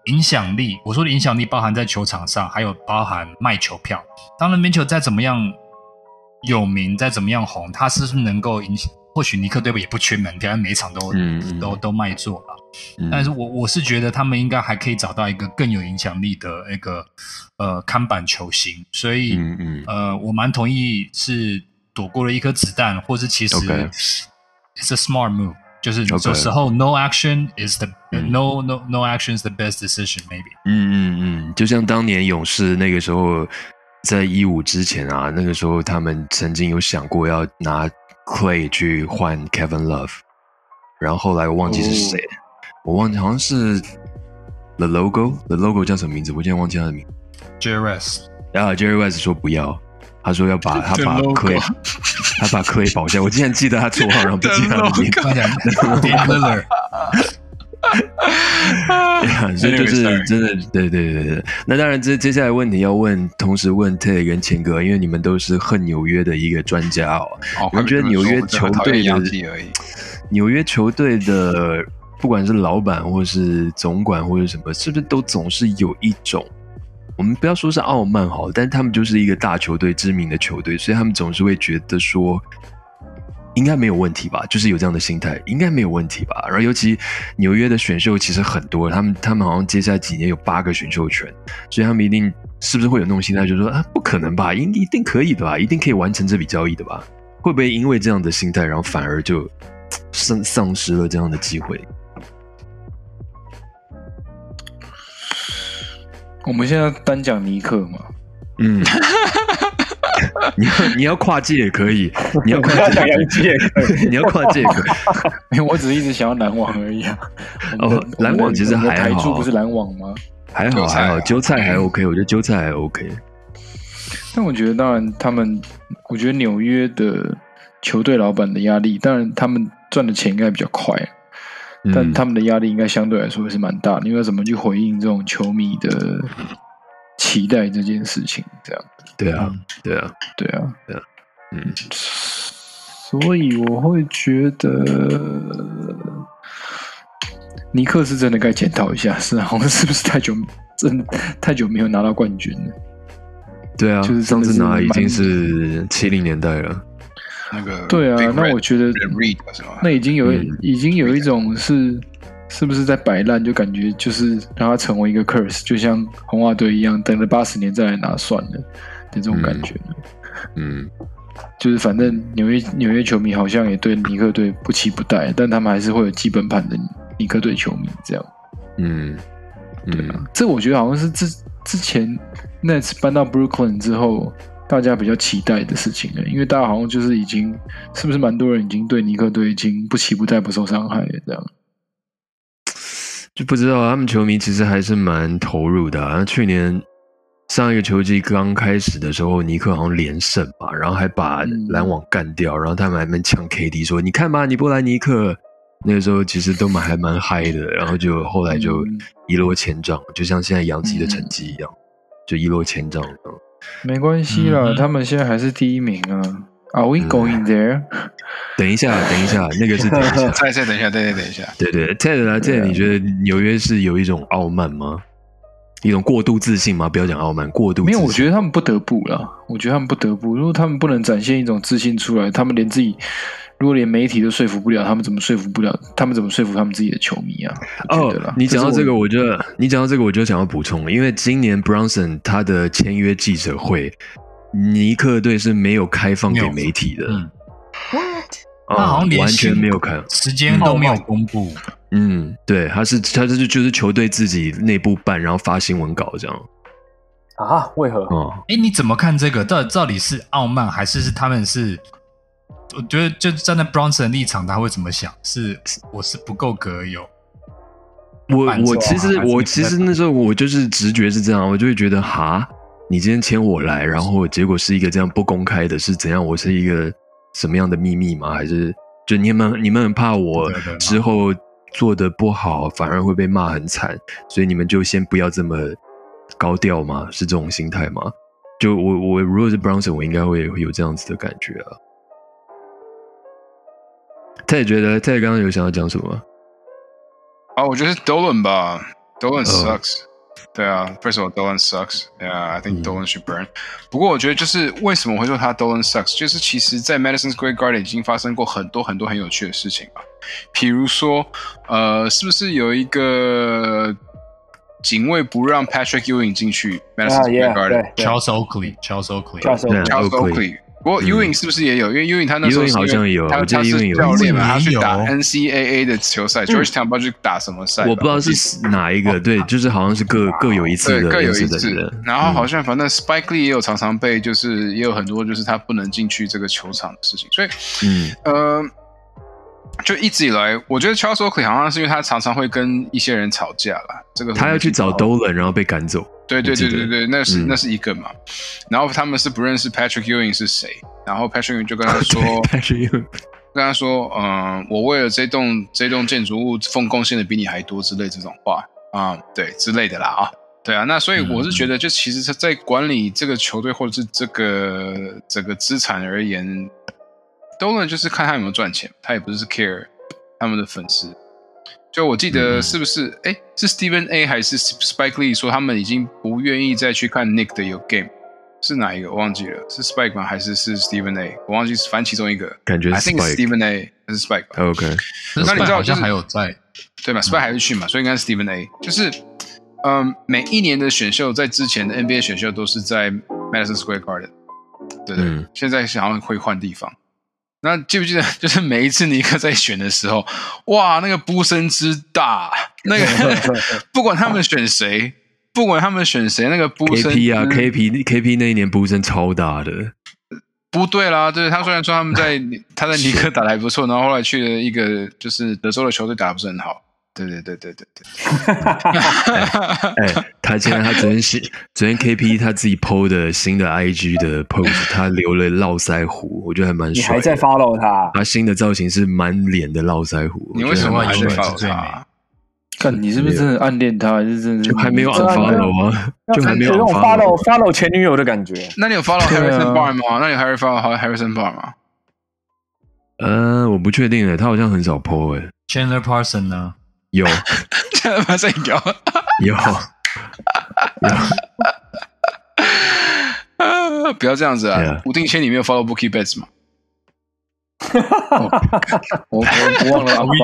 影响力，我说的影响力包含在球场上，还有包含卖球票。当然 Mitchell 再怎么样有名，再怎么样红，他是不是能够影响？或许尼克队也不缺门票，每一场都、嗯、都都卖座了。嗯、但是我我是觉得他们应该还可以找到一个更有影响力的那个呃看板球星，所以、嗯嗯、呃我蛮同意是躲过了一颗子弹，或是其实 okay. it's a smart move， 就是有时候 no action is the、嗯、no no no action is the best decision maybe。 嗯嗯嗯，就像当年勇士那个时候在一五之前啊，那个时候他们曾经有想过要拿 Clay 去换 Kevin Love， 然后后来我忘记是谁。Oh.我忘记好像是 The Logo The Logo 叫什么名字？我现在忘记他的名字。 Jerry West 啊 Jerry West 说不要，他说要把他把 Clay 他把 Clay 保下。我竟然记得他绰号，然后不记得他的名字。所以就是真的，对对对对。那当然，这接下来问题要问，同时问 Ted 跟钱哥，因为你们都是恨纽约的一个专家哦。你们觉得纽约球队的纽约球队的？不管是老板或是总管或者什么，是不是都总是有一种，我们不要说是傲慢好，但他们就是一个大球队、知名的球队，所以他们总是会觉得说，应该没有问题吧，就是有这样的心态，应该没有问题吧。然后尤其纽约的选秀其实很多，他们他们好像接下来几年有八个选秀权，所以他们一定是不是会有那种心态，就是说啊，不可能吧，一一定可以的吧，一定可以完成这笔交易的吧？会不会因为这样的心态，然后反而就丧丧失了这样的机会？ 我们现在单讲尼克嘛， 嗯，你要你要跨界也可以，你要跨界也可以， 你要跨界也可以。 没有，我只是一直想要篮网而已啊。 哦，篮网其实还好， 台柱不是篮网吗？ 还好还好，韭菜还 OK， 我觉得韭菜还 OK。 但我觉得，当然他们，我觉得纽约的球队老板的压力，当然他们赚的钱应该比较快。但他们的压力应该相对来说是蛮大的，因为要怎么去回应这种球迷的期待这件事情，这样。 对啊，对啊， 对啊， 对啊，嗯。 所以我会觉得尼克是真的该检讨一下，是好像是不是太久真太久没有拿到冠军了？ 对啊，就是上次拿已经是七零年代了。 那个对啊，那我觉得那已经有、嗯、已经有一种是是不是在摆烂，就感觉就是让它成为一个 curse， 就像红袜队一样，等了八十年再来拿算了的这种感觉。 嗯，嗯就是反正纽约纽约球迷好像也对尼克队不期不待，但他们还是会有基本盘的尼克队球迷这样。 嗯， 对啊，这我觉得好像是之之前 Nets 搬到 Brooklyn 之后。大家比较期待的事情了，因为大家好像就是已经，是不是蛮多人已经对尼克队已经不期不待、不受伤害了这样？ 就不知道他们球迷其实还是蛮投入的啊。去年上一个球季刚开始的时候，尼克好像连胜嘛，然后还把篮网干掉，嗯、然后他们还蛮呛 K D 说：“你看吧，你不来尼克。”那个时候其实都蛮还蛮嗨的，然后就后来就一落千丈，就像现在洋基的成绩一样，嗯、就一落千丈。 没关系啦、嗯，他们现在还是第一名啊。Are we going there？、嗯、 等一下，等一下，那个是等一下， 再再等一下，再再等一下。 对对 ，Ted 来 ，Ted， 你觉得纽约是有一种傲慢吗？一种过度自信吗？不要讲傲慢，过度自信。 没有，我觉得他们不得不啦。我觉得他们不得不，如果他们不能展现一种自信出来，他们连自己。如果连媒体都说服不了，他们怎么说服不了？他们怎么说服他们自己的球迷啊？ 哦，你讲到这个，我就你讲到这个，我就想要补充，因为今年 Brunson 他的签约记者会，尼克队是没有开放给媒体的。 嗯 What？ 哦、他好像连完全没有开， 时间都没有公布。 嗯，对，他是他是就是球队自己内部办，然后发新闻稿这样。 啊？为何？ 哦， 哎，你怎么看这个？到底到底是傲慢，还是是他们是？我觉得就站在 Brunson 的立场，他会怎么想？是我是不够格有。 我我其实我其实那时候我就是直觉是这样，我就会觉得哈，你今天签我来，然后结果是一个这样不公开的，是怎样？我是一个什么样的秘密吗？还是就你们你们很怕我之后做的不好，反而会被骂很惨，所以你们就先不要这么高调吗？是这种心态吗？就我我如果是 Brunson， 我应该会有这样子的感觉啊。他也觉得，他也刚刚有想要讲什么？ 啊，我觉得是 Dolan 吧 Dolan sucks。对啊 ，First of all, Dolan sucks. Yeah, I think Dolan should burn. 不过我觉得就是为什么我会说他 Dolan sucks， 就是其实在 Madison Square Garden 已经发生过很多很多很有趣的事情吧。比如说，呃，是不是有一个警卫不让 Patrick Ewing 进去 Madison Square Garden？Charles Oakley，Charles Oakley，Charles Oakley。不过 Ewing 是不是也有？因为 Ewing 他那时候好像有， 他他是教练嘛，他去打 N C A A 的球赛 ，Georgetown 不知道去打什么赛， 我不知道是哪一个，对，就是好像是各各有一次的， 各有一次的。然后好像反正 Spike Lee 也有常常被，就是也有很多就是他不能进去这个球场的事情，所以嗯呃。就一直以来，我觉得 Charles Oakley 好像是因为他常常会跟一些人吵架啦。这个他要去找 Dolan， 然后被赶走。 对对对对对，那是、嗯、那是一个嘛。然后他们是不认识 Patrick Ewing 是谁，然后 Patrick Ewing 就跟他说 ，Patrick Ewing 跟他说，嗯，我为了这栋这栋建筑物奉贡献的比你还多之类这种话啊、嗯，对之类的啦啊，对啊。那所以我是觉得，就其实在管理这个球队或者是这个整个资产而言。Dolan 就是看他有没有赚钱，他也不是 care 他们的粉丝。就我记得是不是？哎、嗯，是 Stephen A 还是 Spike Lee 说他们已经不愿意再去看 Nick 的有 game， 是哪一个？我忘记了，是 Spike 吗？还是是 Stephen A？ 我忘记，反正其中一个。 感觉是 Spike。I think it's Stephen A 还是 Spike 吧 ？OK。 那你知道好像还有在对吧 ？Spike 还是去嘛，所以应该是 Stephen A。就是嗯，每一年的选秀在之前的 N B A 选秀都是在 Madison Square Garden， 对对、嗯，现在好像会换地方。那记不记得，就是每一次尼克在选的时候，哇，那个呼声之大，那个不管他们选谁，不管他们选谁，那个呼声 K P 啊 ，K P K P 那一年呼声超大的。 不对啦，对他虽然说他们在他在尼克打得还不错，然后后来去了一个就是德州的球队打得不是很好。对对对对对对。 哎，他现在他昨天是昨天 K P 他自己 P O 的新的 I G 的 post， 他留了络腮胡，我觉得还蛮帅的。 你还在 follow 他？ 他新的造型是满脸的络腮胡。 你为什么还在 follow 他？ 看你是不是真的暗恋他，还是真的就还没有 unfollow 啊？就还没有 follow follow 前女友的感觉。 那你有 follow Harrison Barnes 吗？那你有 follow Harrison Barnes 吗？ 呃，我不确定诶，他好像很少 P O 诶。 Chandler Parsons 呢？ 有， 马上有， 有， 有。不要这样子啊！ Yeah. 吴定谦，你没有 follow Mookie Betts 吗？ 我我我忘了啊！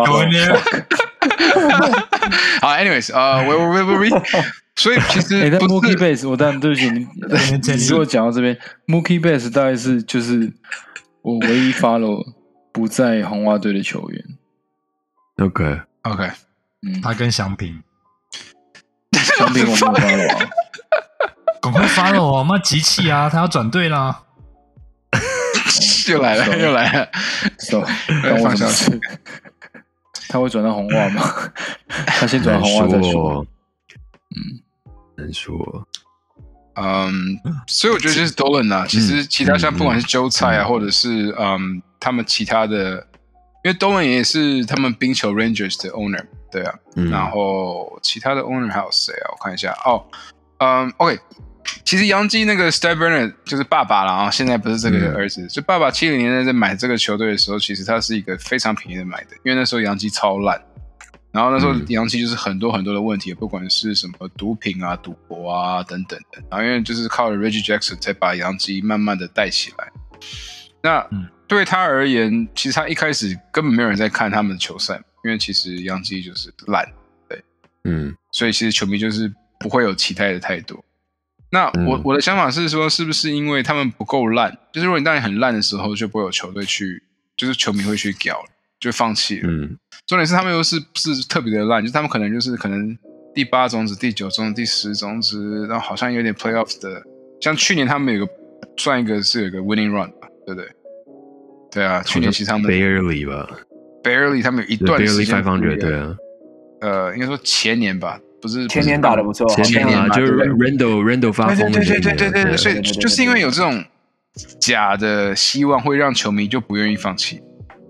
好 ，anyways， 呃，我我我我，所以其实， 哎，但 Mookie Betts， 我当然对不起你，你如果讲到这边 ，Mookie Betts 大概是就是我唯一 follow 不在红袜队的球员。 OK OK。 嗯，他跟祥平， 祥平我没有 follow 啊， 赶快 follow 哦，妈急气啊，他要转队啦， 又来了又来了， 走，让我下去，他会转到红袜吗？他先转到红袜再说， 嗯，难说， 嗯，所以我觉得就是 Dolan 啊，其实其他像不管是韭菜啊，或者是嗯他们其他的，因为 Dolan 也是他们冰球 Rangers 的 owner。对啊、嗯，然后其他的 owner 还有谁啊？我看一下哦，嗯 ，OK， 其实洋基那个 Steve Bernard 就是爸爸啦，然后现在不是这个儿子，嗯、就爸爸七零年代在买这个球队的时候，其实他是一个非常便宜的买的，因为那时候洋基超烂，然后那时候洋基就是很多很多的问题，不管是什么毒品啊、赌博啊等等的，然后因为就是靠了 Reggie Jackson 才把洋基慢慢的带起来，那对他而言，其实他一开始根本没有人在看他们的球赛。因为其实洋基就是烂，对，嗯，所以其实球迷就是不会有期待的太多。那我、嗯、我的想法是说，是不是因为他们不够烂？就是如果你当你很烂的时候，就不会有球队去，就是球迷会去屌了，就放弃了。嗯，重点是他们又是不是特别的烂？就是他们可能就是可能第八种子、第九种子、第十种子，然后好像有点 playoffs 的。像去年他们有个算一个是有个 winning run 吧，对不对？对啊，去年其实他们 barely 吧。 Barely 他们有一段时间 barely 五百，对啊， 呃，应该说前年吧，不是前年打得不错， 前年啊，就是 Randall Randall 发疯的， 对对对对对对，所以就是因为有这种假的希望，会让球迷就不愿意放弃。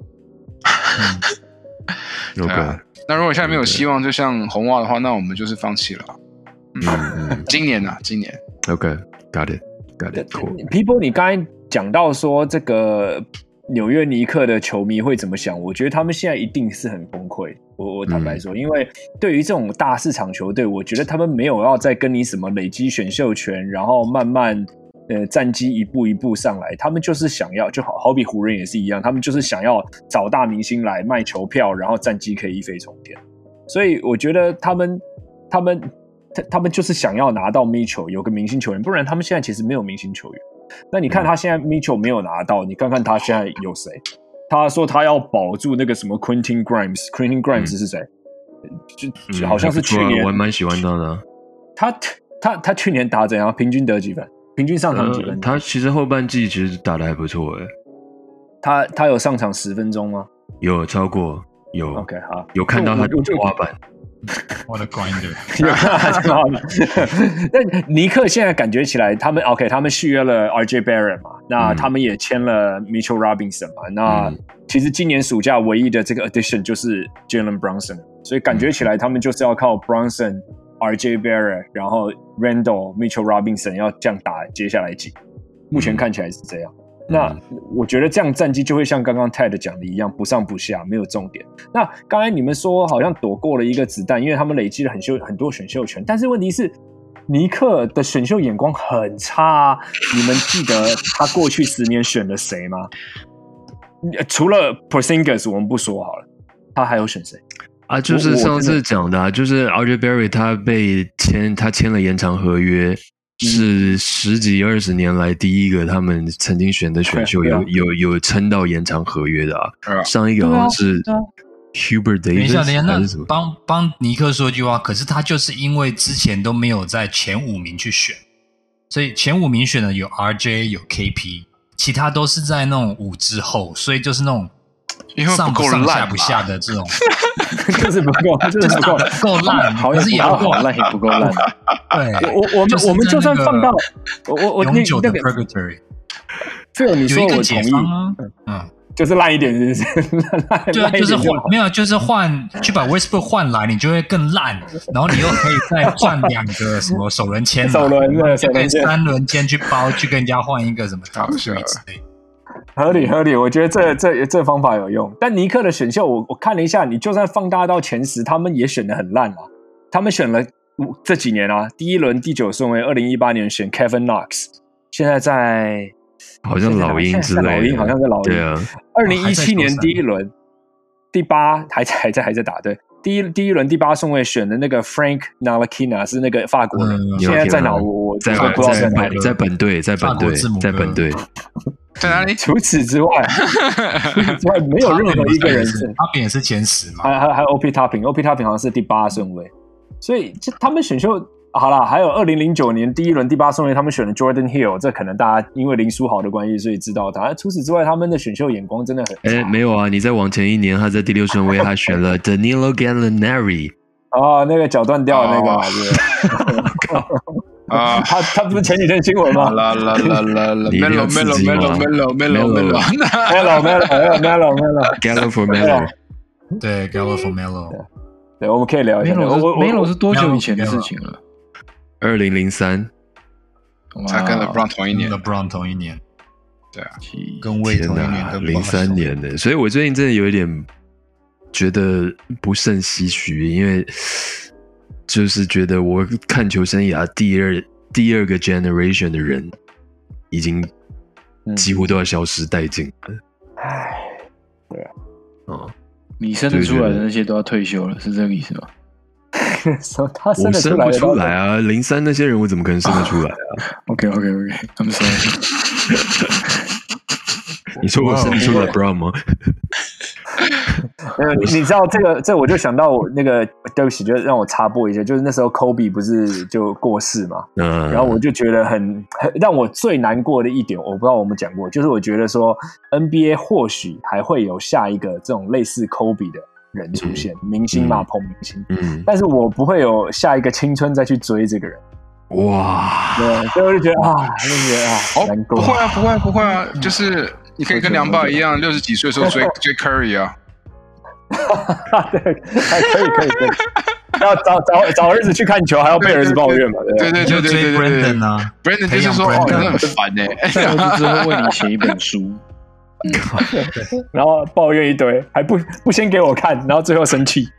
OK， 那如果现在没有希望，就像红袜的话，那我们就是放弃了。嗯，今年啊，今年 OK，got it，got it，cool。 People， 你刚才讲到说这个。 纽约尼克的球迷会怎么想？我觉得他们现在一定是很崩溃。我我坦白说，嗯、因为对于这种大市场球队，我觉得他们没有要再跟你什么累积选秀权，然后慢慢呃战绩一步一步上来，他们就是想要，就好好比湖人也是一样，他们就是想要找大明星来卖球票，然后战绩可以一飞冲天。所以我觉得他们他们他他们就是想要拿到 Mitchell 有个明星球员，不然他们现在其实没有明星球员。那你看他现在 Mitchell 没有拿到，你看看他现在有谁？他说他要保住那个什么 Quentin Grimes，Quentin Grimes 是谁？嗯、就, 就好像是去年， 嗯、我蛮喜欢他的。 他他他去年打怎样？平均得几分？平均上场几分？呃、 他其实后半季其实打得还不错诶。 他他有上场十分钟吗？ 有超过有。 OK 好， 有看到他的天花板。 我的 grinder， 但尼克现在感觉起来，他们 OK， 他们续约了 R J Barrett 嘛，那他们也签了 Mitchell Robinson 嘛，那其实今年暑假唯一的这个 addition 就是 Jalen Brunson， 所以感觉起来他们就是要靠 Brunson、R J Barrett， 然后 Randall、Mitchell Robinson 要这样打接下来几，目前看起来是这样。那我觉得这样战绩就会像刚刚 Ted 讲的一样，不上不下，没有重点。那刚才你们说好像躲过了一个子弹，因为他们累积了很秀很多选秀权，但是问题是尼克的选秀眼光很差啊！你们记得他过去十年选了谁吗？除了 Porzingis 我们不说好了，他还有选谁？ 啊，就是上次讲的、啊，就是 R J Barrett 他被签，他签了延长合约。是十几二十年来第一个他们曾经选的选秀有有有撑到延长合约的啊！上一个好像是 Hubert Davis， 等一下， 等一下，那帮帮尼克说一句话，可是他就是因为之前都没有在前五名去选，所以前五名选的有 R J 有 K P， 其他都是在那种五之后，所以就是那种上不上下不下的这种， 就是不够，就是不够不够烂，可是也不够烂，也不够烂。 对， 我我们我们就算放到我我我永久的 purgatory， 这个你说我同意啊，嗯， 就是烂一点，是不是？ 对，就是换没有，就是换去把 Westbrook 换来，你就会更烂，然后你又可以再赚两个什么首轮签， 首轮的就可以三轮签去包，去跟人家换一个什么大水之类。 合理合理，我觉得这这这方法有用。但尼克的选秀，我我看了一下，你就算放大到前十，他们也选得很烂啊。他们选了这几年啊，第一轮第九顺位，二零一八年选 Kevin Knox， 现在在好像老鹰之类的， 老鹰好像在老鹰。 对啊， 二零一七年第一轮第八还在还在还在打对。第一第一轮第八顺位选的那个 Frank Ntilikina 是那个法国人，嗯、现在在哪？我我在不知道在哪里， 在本队，在本队，在本队， 在哪里？ 除此之外，除此之外没有任何一个人是。 他饼也是前十嘛？ 还还还有 O P Topping，O P Topping 好像是第八顺位，所以就他们选秀好啦，还有二零零九年第一轮第八顺位，他们选了 Jordan Hill， 这可能大家因为林书豪的关系，所以知道他。除此之外，他们的选秀眼光真的很…… 哎，没有啊！你再往前一年，他在第六顺位，他选了 Danilo Gallinari。 哦，那个脚断掉的那个，对。啊，他他不是前几天新闻吗？ 啦啦啦啦啦 ，Melo Melo Melo Melo Melo Melo Melo Melo Melo Melo for Melo， 对 ，Gallo for Melo， 对，我们可以聊一下。 Melo 是多久以前的事情了？ 二零零三， 他跟 LeBron 同一年 ，LeBron 同一年， 对啊， 跟魏同一年，跟零三年的，所以我最近真的有一点觉得不胜唏嘘，因为。就是觉得我看球生涯第二第二个 generation 的人，已经几乎都要消失殆尽了。 唉，对啊， 哦， 你生得出来的那些都要退休了，是这个意思吗？ 他生得出来我生不出来啊！零三那些人我怎么可能生得出来啊 ？OK OK OK，I'm sorry。 你说我生得出来 LeBron 吗？ 呃，你知道这个，这我就想到我那个，对不起，就让我插播一下，就是那时候 Kobe 不是就过世嘛，嗯，然后我就觉得很很让我最难过的一点，我不知道我们讲过，就是我觉得说 N B A 或许还会有下一个这种类似 Kobe 的人出现，嗯、明星嘛，捧、嗯、明星，嗯，但是我不会有下一个青春再去追这个人。 哇， 对，所以我就觉得啊，就觉得啊， 哦，难过。不会啊，不会，不会啊，就是你可以跟梁爸一样，六十几岁的时候追追 Curry 啊。 对，还可以，可以，可以。要找找找儿子去看球，还要被儿子抱怨嘛？ 对对对对对对对。 Brandon 啊 ，Brandon 就是说，哦，真的很烦哎。 下儿子之后为你写一本书， 然后抱怨一堆，还不不先给我看，然后最后生气，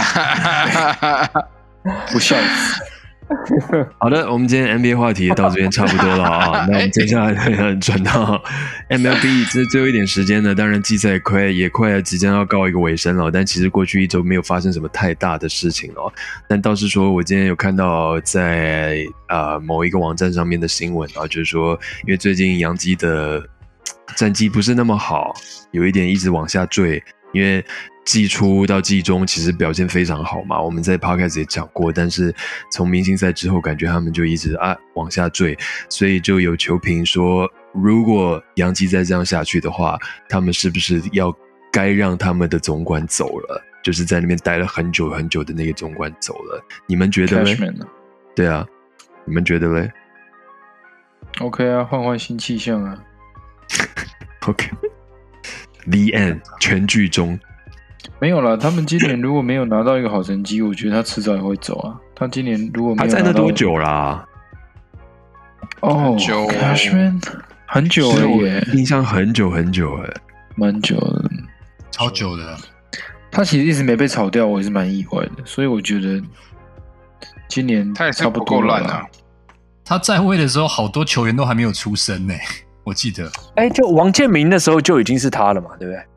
不孝子。 好的，我们今天 N B A 话题到这边差不多了啊，那我们接下来转到 M L B， 这最后一点时间呢，当然季赛快也快即将要告一个尾声了，但其实过去一周没有发生什么太大的事情了，但倒是说我今天有看到在呃某一个网站上面的新闻啊，就是说因为最近洋基的战绩不是那么好，有一点一直往下坠，因为季初到季中其实表现非常好嘛，我们在 podcast 也讲过，但是从明星赛之后感觉他们就一直啊往下坠，所以就有球评说，如果洋基再这样下去的话，他们是不是要该让他们的总管走了，就是在那边待了很久很久的那个总管走了，你们觉得嘞？对啊，你们觉得嘞 ？OK 啊，换换新气象啊。 OK The end 全剧终。 没有啦，他们今年如果没有拿到一个好成绩，我觉得他迟早也会走啊。他今年如果没有拿到， 他在那多久啦？ 哦 ，Cashman 很久了耶， 印象很久很久哎， 蛮久的， 超久的。 他其实一直没被炒掉，我也是蛮意外的。所以我觉得今年他也是不够烂啊。 他在位的时候，好多球员都还没有出生呢，我记得。 哎，就王建民那时候就已经是他了嘛，对不对？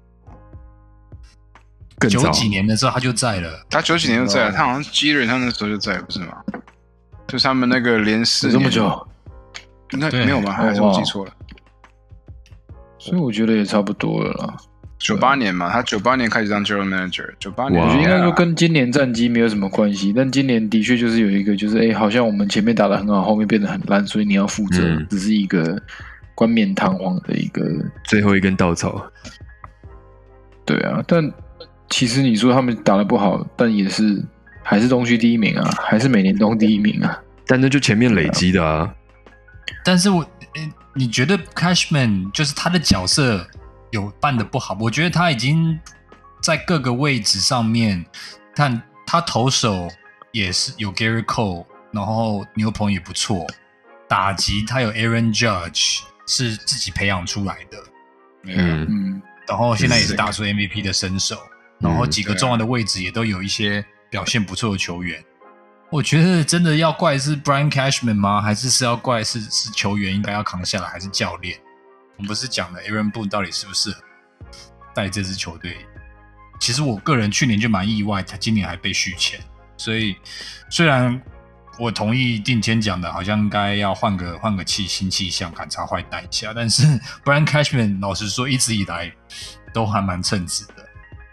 九几年的时候他就在了， 他九几年就在了，他好像基人他那时候就在了，不是吗？就是他们那个连四年这么久， 那没有吗？还是我记错了？ 所以我觉得也差不多了啦。 九八年嘛，他九八年开始当 General Manager， 九八年我觉得应该说跟今年战绩没有什么关系，但今年的确就是有一个，就是哎，好像我们前面打得很好，后面变得很烂，所以你要负责，嗯、只是一个冠冕堂皇的一个最后一根稻草。 对啊，但。其实你说他们打得不好，但也是还是东区第一名啊，还是美联东第一名啊。 但那就前面累积的啊。 但是我，你觉得 Cashman 就是他的角色有办得不好？我觉得他已经在各个位置上面，看他投手也是有 Gary Cole， 然后牛棚也不错，打击他有 Aaron Judge 是自己培养出来的， 嗯嗯，然后现在也是打出 M V P 的身手。然后几个重要的位置也都有一些表现不错的球员，我觉得真的要怪是 Brian Cashman 吗？还是是要怪是是球员应该要扛下来，还是教练？我们不是讲了 Aaron Boone 到底适不适合带这支球队？其实我个人去年就蛮意外，他今年还被续签，所以虽然我同意定谦讲的，好像应该要换个换个气新气象，赶茶坏蛋一下，但是 Brian Cashman 老实说一直以来都还蛮称职的。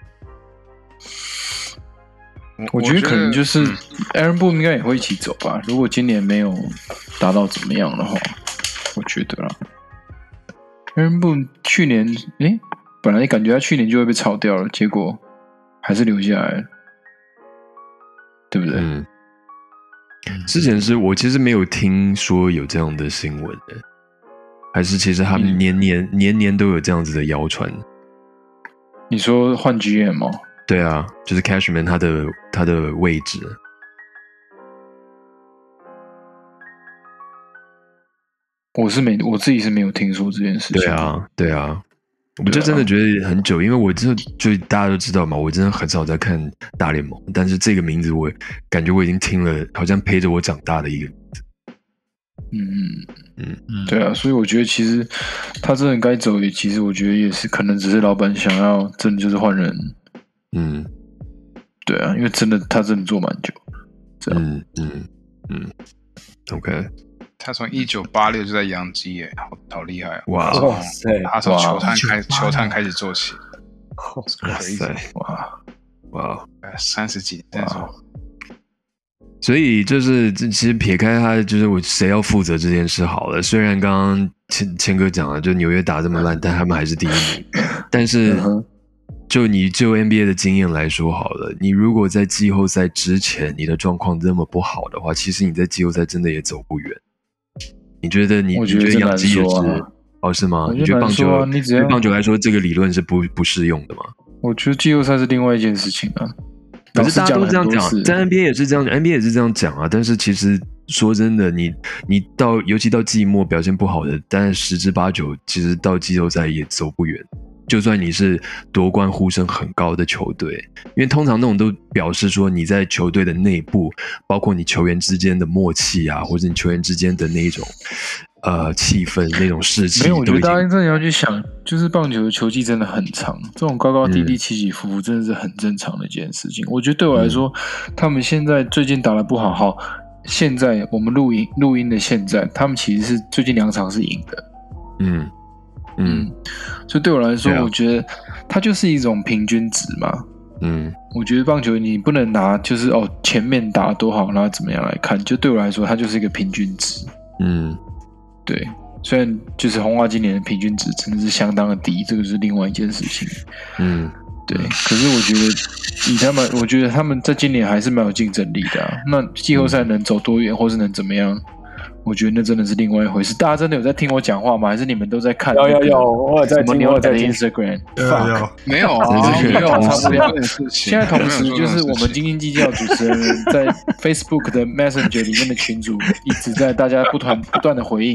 我觉得可能就是 Aaron Boone 应该也会一起走吧。如果今年没有达到怎么样的话，我觉得啦 ，Aaron Boone 去年诶，本来感觉他去年就会被炒掉了，结果还是留下来了，对不对？ 嗯。之前是我其实没有听说有这样的新闻的，还是其实他们年年、嗯、年年都有这样子的谣传。 你说换 G M 吗？ 对啊，就是 Cashman 他的他的位置， 我是没我自己是没有听说这件事情。 对啊，对啊，我就真的觉得很久，因为我就就大家都知道嘛，我真的很少在看大联盟，但是这个名字我感觉我已经听了，好像陪着我长大的一个名字。 嗯嗯嗯，对啊，所以我觉得其实他真的该走，也其实我觉得也是可能只是老板想要真的就是换人。嗯，对啊，因为真的他真的做蛮久，这样， 嗯嗯嗯 ，OK， 他从一九八六就在洋基耶，好好厉害啊！ 哇塞， 他从球探开球探开始做起， 哇塞， 哇哇， 三十几年， 所以就是其实撇开他，就是我谁要负责这件事好了。虽然刚刚谦谦哥讲了，就纽约打这么烂，但他们还是第一名，但是。就你就 N B A 的经验来说好了，你如果在季后赛之前你的状况这么不好的话，其实你在季后赛真的也走不远。你觉得你我觉得你觉得洋基也是、 啊、 哦是吗？ 我你觉得棒球、 啊、你只要对棒球来说这个理论是不不适用的吗？ 我觉得季后赛是另外一件事情啊。 可是大家都这样讲，在 N B A 也是这样 ，N B A 也是这样讲啊。但是其实说真的，你你到尤其到季末表现不好的，但是十之八九其实到季后赛也走不远。就算你是夺冠呼声很高的球队，因为通常那种都表示说你在球队的内部，包括你球员之间的默契啊，或者你球员之间的那一种呃气氛、那种士气。 没有，我觉得大家真的要去想，就是棒球的球季真的很长，这种高高低低、起起伏伏，真的是很正常的一件事情。嗯、我觉得对我来说，嗯、他们现在最近打得不好，好，现在我们录音录音的现在，他们其实是最近两场是赢的。嗯。嗯，所以对我来说，我觉得它就是一种平均值嘛。嗯，我觉得棒球你不能拿就是哦前面打多好，然后怎么样来看，就对我来说，它就是一个平均值。嗯，对，虽然就是红袜今年的平均值真的是相当的低，这个是另外一件事情。嗯，对，可是我觉得以他们，我觉得他们在今年还是蛮有竞争力的啊。那季后赛能走多远，或是能怎么样？我觉得那真的是另外一回事。大家真的有在听我讲话吗？还是你们都在看、那個？ 有有有，我有在听，我有在听 Instagram。 有有没有啊？没有，差不多。 现在同时就是我们斤斤计较主持人在 Facebook 的 Messenger 里面的群组一直在大家不断不断的回应。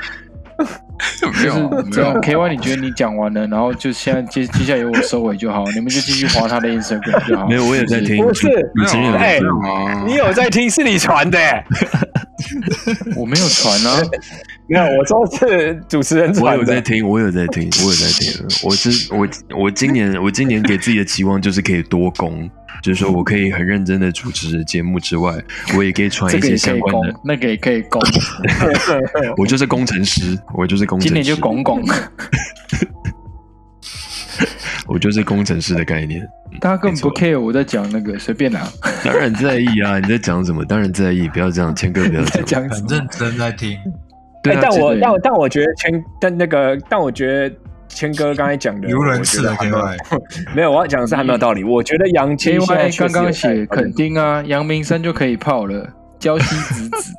就是这样 ，K Y， 你觉得你讲完了，然后就现在接接下来由我收尾就好，你们就继续滑他的 Instagram 就好。 没有，我也在听。 不是， 没有， 哎，你有在听，是你传的。 我没有传啊， 没有，我说是主持人传的。 我有在听，我有在听，我有在听。我是我我今年我今年给自己的期望就是可以多攻。就是说我可以很认真的主持节目之外，我也可以传一些相关的， 那个也可以攻。 我就是工程师，我就是工程师。 今年就拱拱。 我就是工程师的概念。 大家根本不 care 我在讲那个，随便拿。 当然在意啊，你在讲什么？当然在意，不要这样，谦哥不要这样。很认真在听。 对、啊欸，但我但但我觉得谦，但那个，但我觉得。谦哥刚才讲的， 有人吃了 K Y， 没有，我要讲的是还没有道理。我觉得杨基 K Y 刚刚写肯定啊，阳明山就可以泡了，礁溪子子。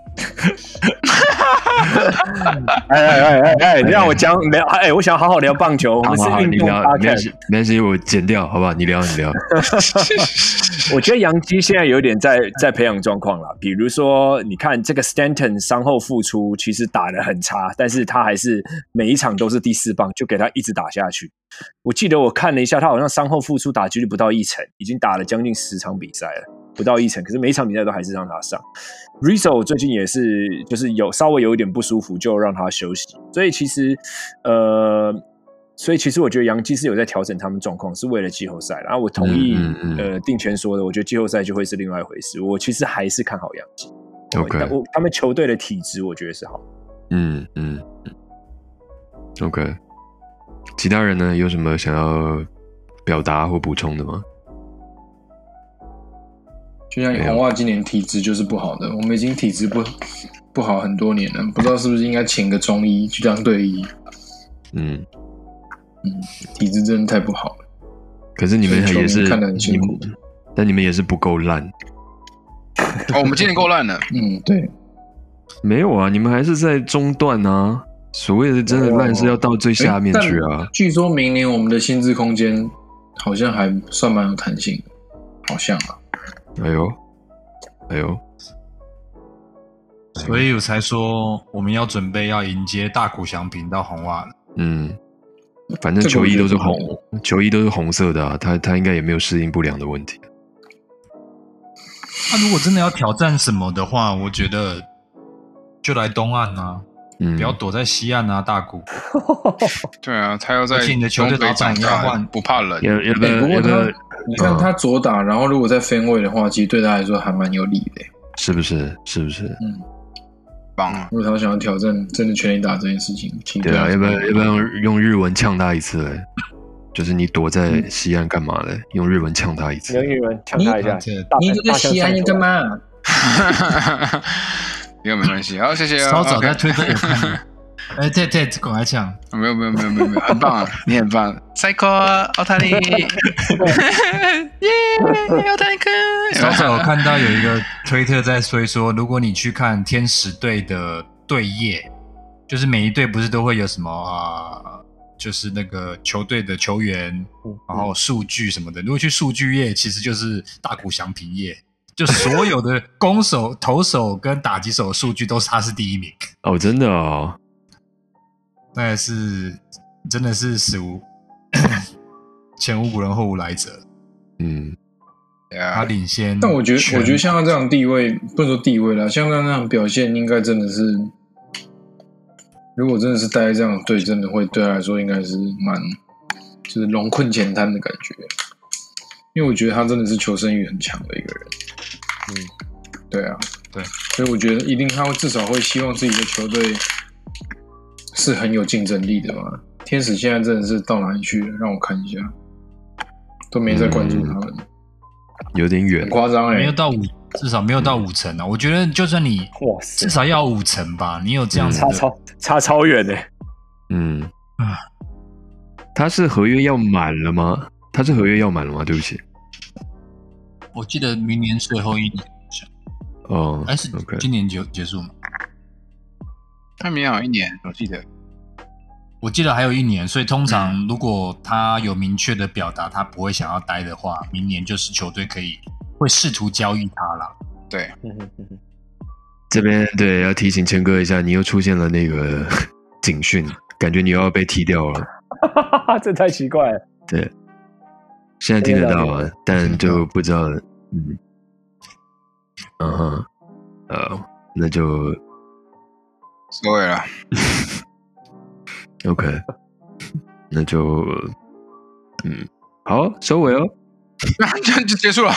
哎哎哎哎哎，你让我讲聊，哎，我想好好聊棒球，我们是运动 podcast， 没关系，我剪掉，好不好？你聊，你聊。 我觉得杨基现在有点在在培养状况了，比如说，你看这个 Stanton 伤后复出，其实打得很差，但是他还是每一场都是第四棒，就给他一直打下去。我记得我看了一下，他好像伤后复出打击率不到一成，已经打了将近十场比赛了，不到一成，可是每一场比赛都还是让他上。Rizzo 最近也是，就是有稍微有一点不舒服，就让他休息。所以其实，呃。所以其实我觉得洋基是有在调整他们状况，是为了季后赛。然后我同意、嗯嗯嗯、呃定全说的，我觉得季后赛就会是另外一回事。我其实还是看好洋基。 OK， 我他们球队的体质我觉得是好。 嗯嗯嗯。OK， 其他人呢有什么想要表达或补充的吗？ 就像红袜今年体质就是不好的，我们已经体质不不好很多年了，不知道是不是应该请个中医去当队医。嗯。嗯，体质真的太不好了。 可是你们也是看得很辛苦， 但你们也是不够烂。 哦，我们今年够烂了。 嗯，对。 没有啊，你们还是在中段啊。所谓的真的烂是要到最下面去啊。 据说明年我们的薪资空间好像还算蛮有弹性的，好像啊。 哎呦，哎呦。 所以我才说我们要准备要迎接大谷翔平到红袜了。 嗯。反正球衣都是红，球衣都是红色的啊，他他应该也没有适应不良的问题。 那、啊、如果真的要挑战什么的话，我觉得就来东岸啊，嗯、不要躲在西岸啊，大谷。 对啊，他要在而且你的球队老板要换， 不怕冷。 要要不要？ 不过他，你看他左打，然后如果在分位的话，其实对他来说还蛮有利的， 是不是？是不是？ 嗯。如果他想要挑战真的全垒打这件事情， 对啊，要不要要不要用日文呛他一次嘞？就是你躲在西岸干嘛嘞？嗯、用日文呛他一次。 用日文呛他一下。 你你这个西岸你干嘛？ 这个没关系，好，谢谢啊。 稍早在推特有看。哎，对对，赶快抢！ 没有没有没有没有没有，很棒啊，你很棒，最高奥塔利，耶，奥塔利克。 稍早我看到有一个推特在说说，如果你去看天使队的队页，就是每一队不是都会有什么啊、呃，就是那个球队的球员，然后数据什么的。如果去数据页，其实就是大谷翔平页。 就所有的攻守、投手跟打击手的数据都是他是第一名。 哦，真的哦， 那是真的是史无前无古人后无来者。 嗯， 他领先。 但我觉得，我觉得像他这样的地位，不能说地位啦，像他那样表现，应该真的是，如果真的是待在这样的队，真的会对他来说应该是蛮，就是龙困浅滩的感觉。因为我觉得他真的是求生欲很强的一个人。嗯，对啊， 对， 所以我觉得一定他会至少会希望自己的球队是很有竞争力的嘛。天使现在真的是到哪里去了？让我看一下，都没在关注他们，嗯、 有点远， 很夸张哎， 没有到五，至少没有到五成啊。我觉得就算你哇， 至少要五成吧，你有这样子的、 嗯、差超差超远的、欸。 嗯，他是合约要满了吗？他是合约要满了吗？对不起， 我记得明年最后一年。 哦， 还是今年结结束吗？ 他明年有一年，我记得， 我记得还有一年，所以通常如果他有明确的表达他不会想要待的话，明年就是球队可以会试图交易他啦。 对， 这边对要提醒谦哥一下，你又出现了那个警讯，感觉你又要被踢掉了。 这太奇怪了。 对，现在听得到啊，但就不知道，嗯。嗯哼，呃，那就收尾了。 OK， 那就嗯，好，收尾哦。 这样就结束了。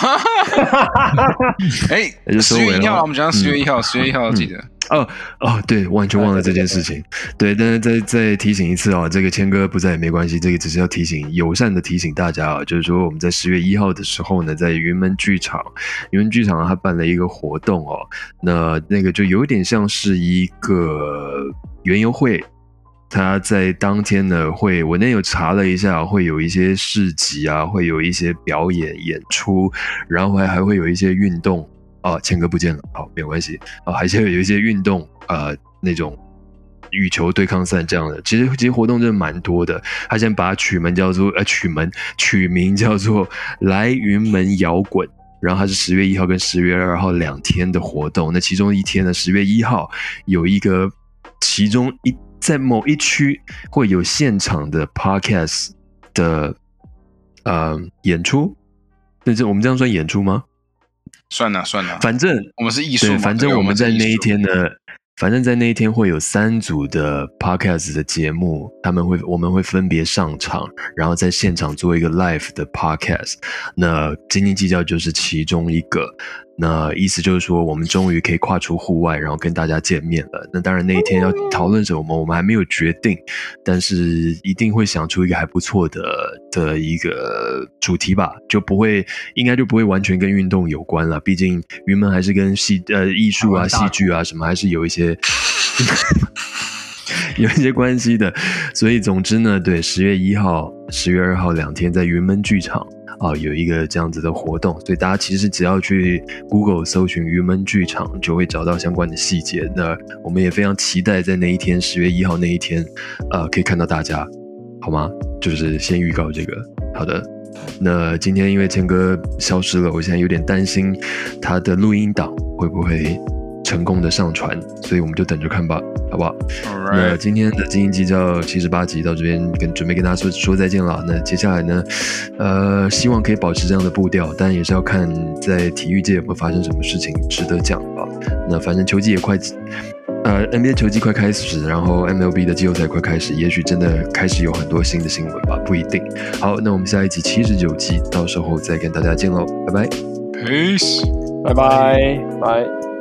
哎、欸，十月一号，我们讲十月一号，十、嗯、月一号记得。 哦哦，对，完全忘了这件事情。对，但是再再提醒一次哦，这个谦哥不在也没关系，这个只是要提醒，友善的提醒大家啊，就是说我们在十月一号的时候呢，在云门剧场，云门剧场他办了一个活动哦，那那个就有点像是一个园游会。他在当天呢会，我那有查了一下，会有一些市集啊，会有一些表演演出，然后还还会有一些运动啊，谦哥不见了，好，没有关系啊，还是有一些运动呃那种羽球对抗赛这样的，其实其实活动真的蛮多的。他现在把取名叫做呃取名取名叫做来云门摇滚。然后它是十月一号跟十月二号两天的活动，那其中一天呢，十月一号有一个，其中一在某一区会有现场的 podcast 的呃演出，那这我们这样算演出吗？ 算了算了， 反正我们是艺术嘛， 反正我们在那一天呢。反正在那一天会有三组的 podcast 的节目，他们会我们会分别上场，然后在现场做一个 live 的 podcast。那斤斤计较就是其中一个。那意思就是说，我们终于可以跨出户外，然后跟大家见面了。那当然那一天要讨论什么，我们还没有决定，但是一定会想出一个还不错的的一个主题吧，就不会应该就不会完全跟运动有关了。毕竟云门还是跟戏呃艺术啊、戏剧啊什么还是有一些。有一些关系的，所以总之呢，对，十月一号、十月二号两天在云门剧场啊有一个这样子的活动，所以大家其实只要去 Google 搜寻云门剧场，就会找到相关的细节。那我们也非常期待在那一天，十月一号那一天，呃，可以看到大家，好吗？就是先预告这个，好的。那今天因为谦哥消失了，我现在有点担心他的录音档会不会成功的上传，所以我们就等着看吧，好不好？ Alright. 那今天的斤斤计较七十八集到这边跟准备跟大家说说再见了。那接下来呢，呃，希望可以保持这样的步调，但也是要看在体育界有没有发生什么事情值得讲吧。那反正球季也快，呃 ，N B A 球季快开始，然后 M L B 的季后赛快开始，也许真的开始有很多新的新闻吧，不一定。好，那我们下一集七十九集，到时候再跟大家见喽，拜拜 ，Peace， 拜拜拜。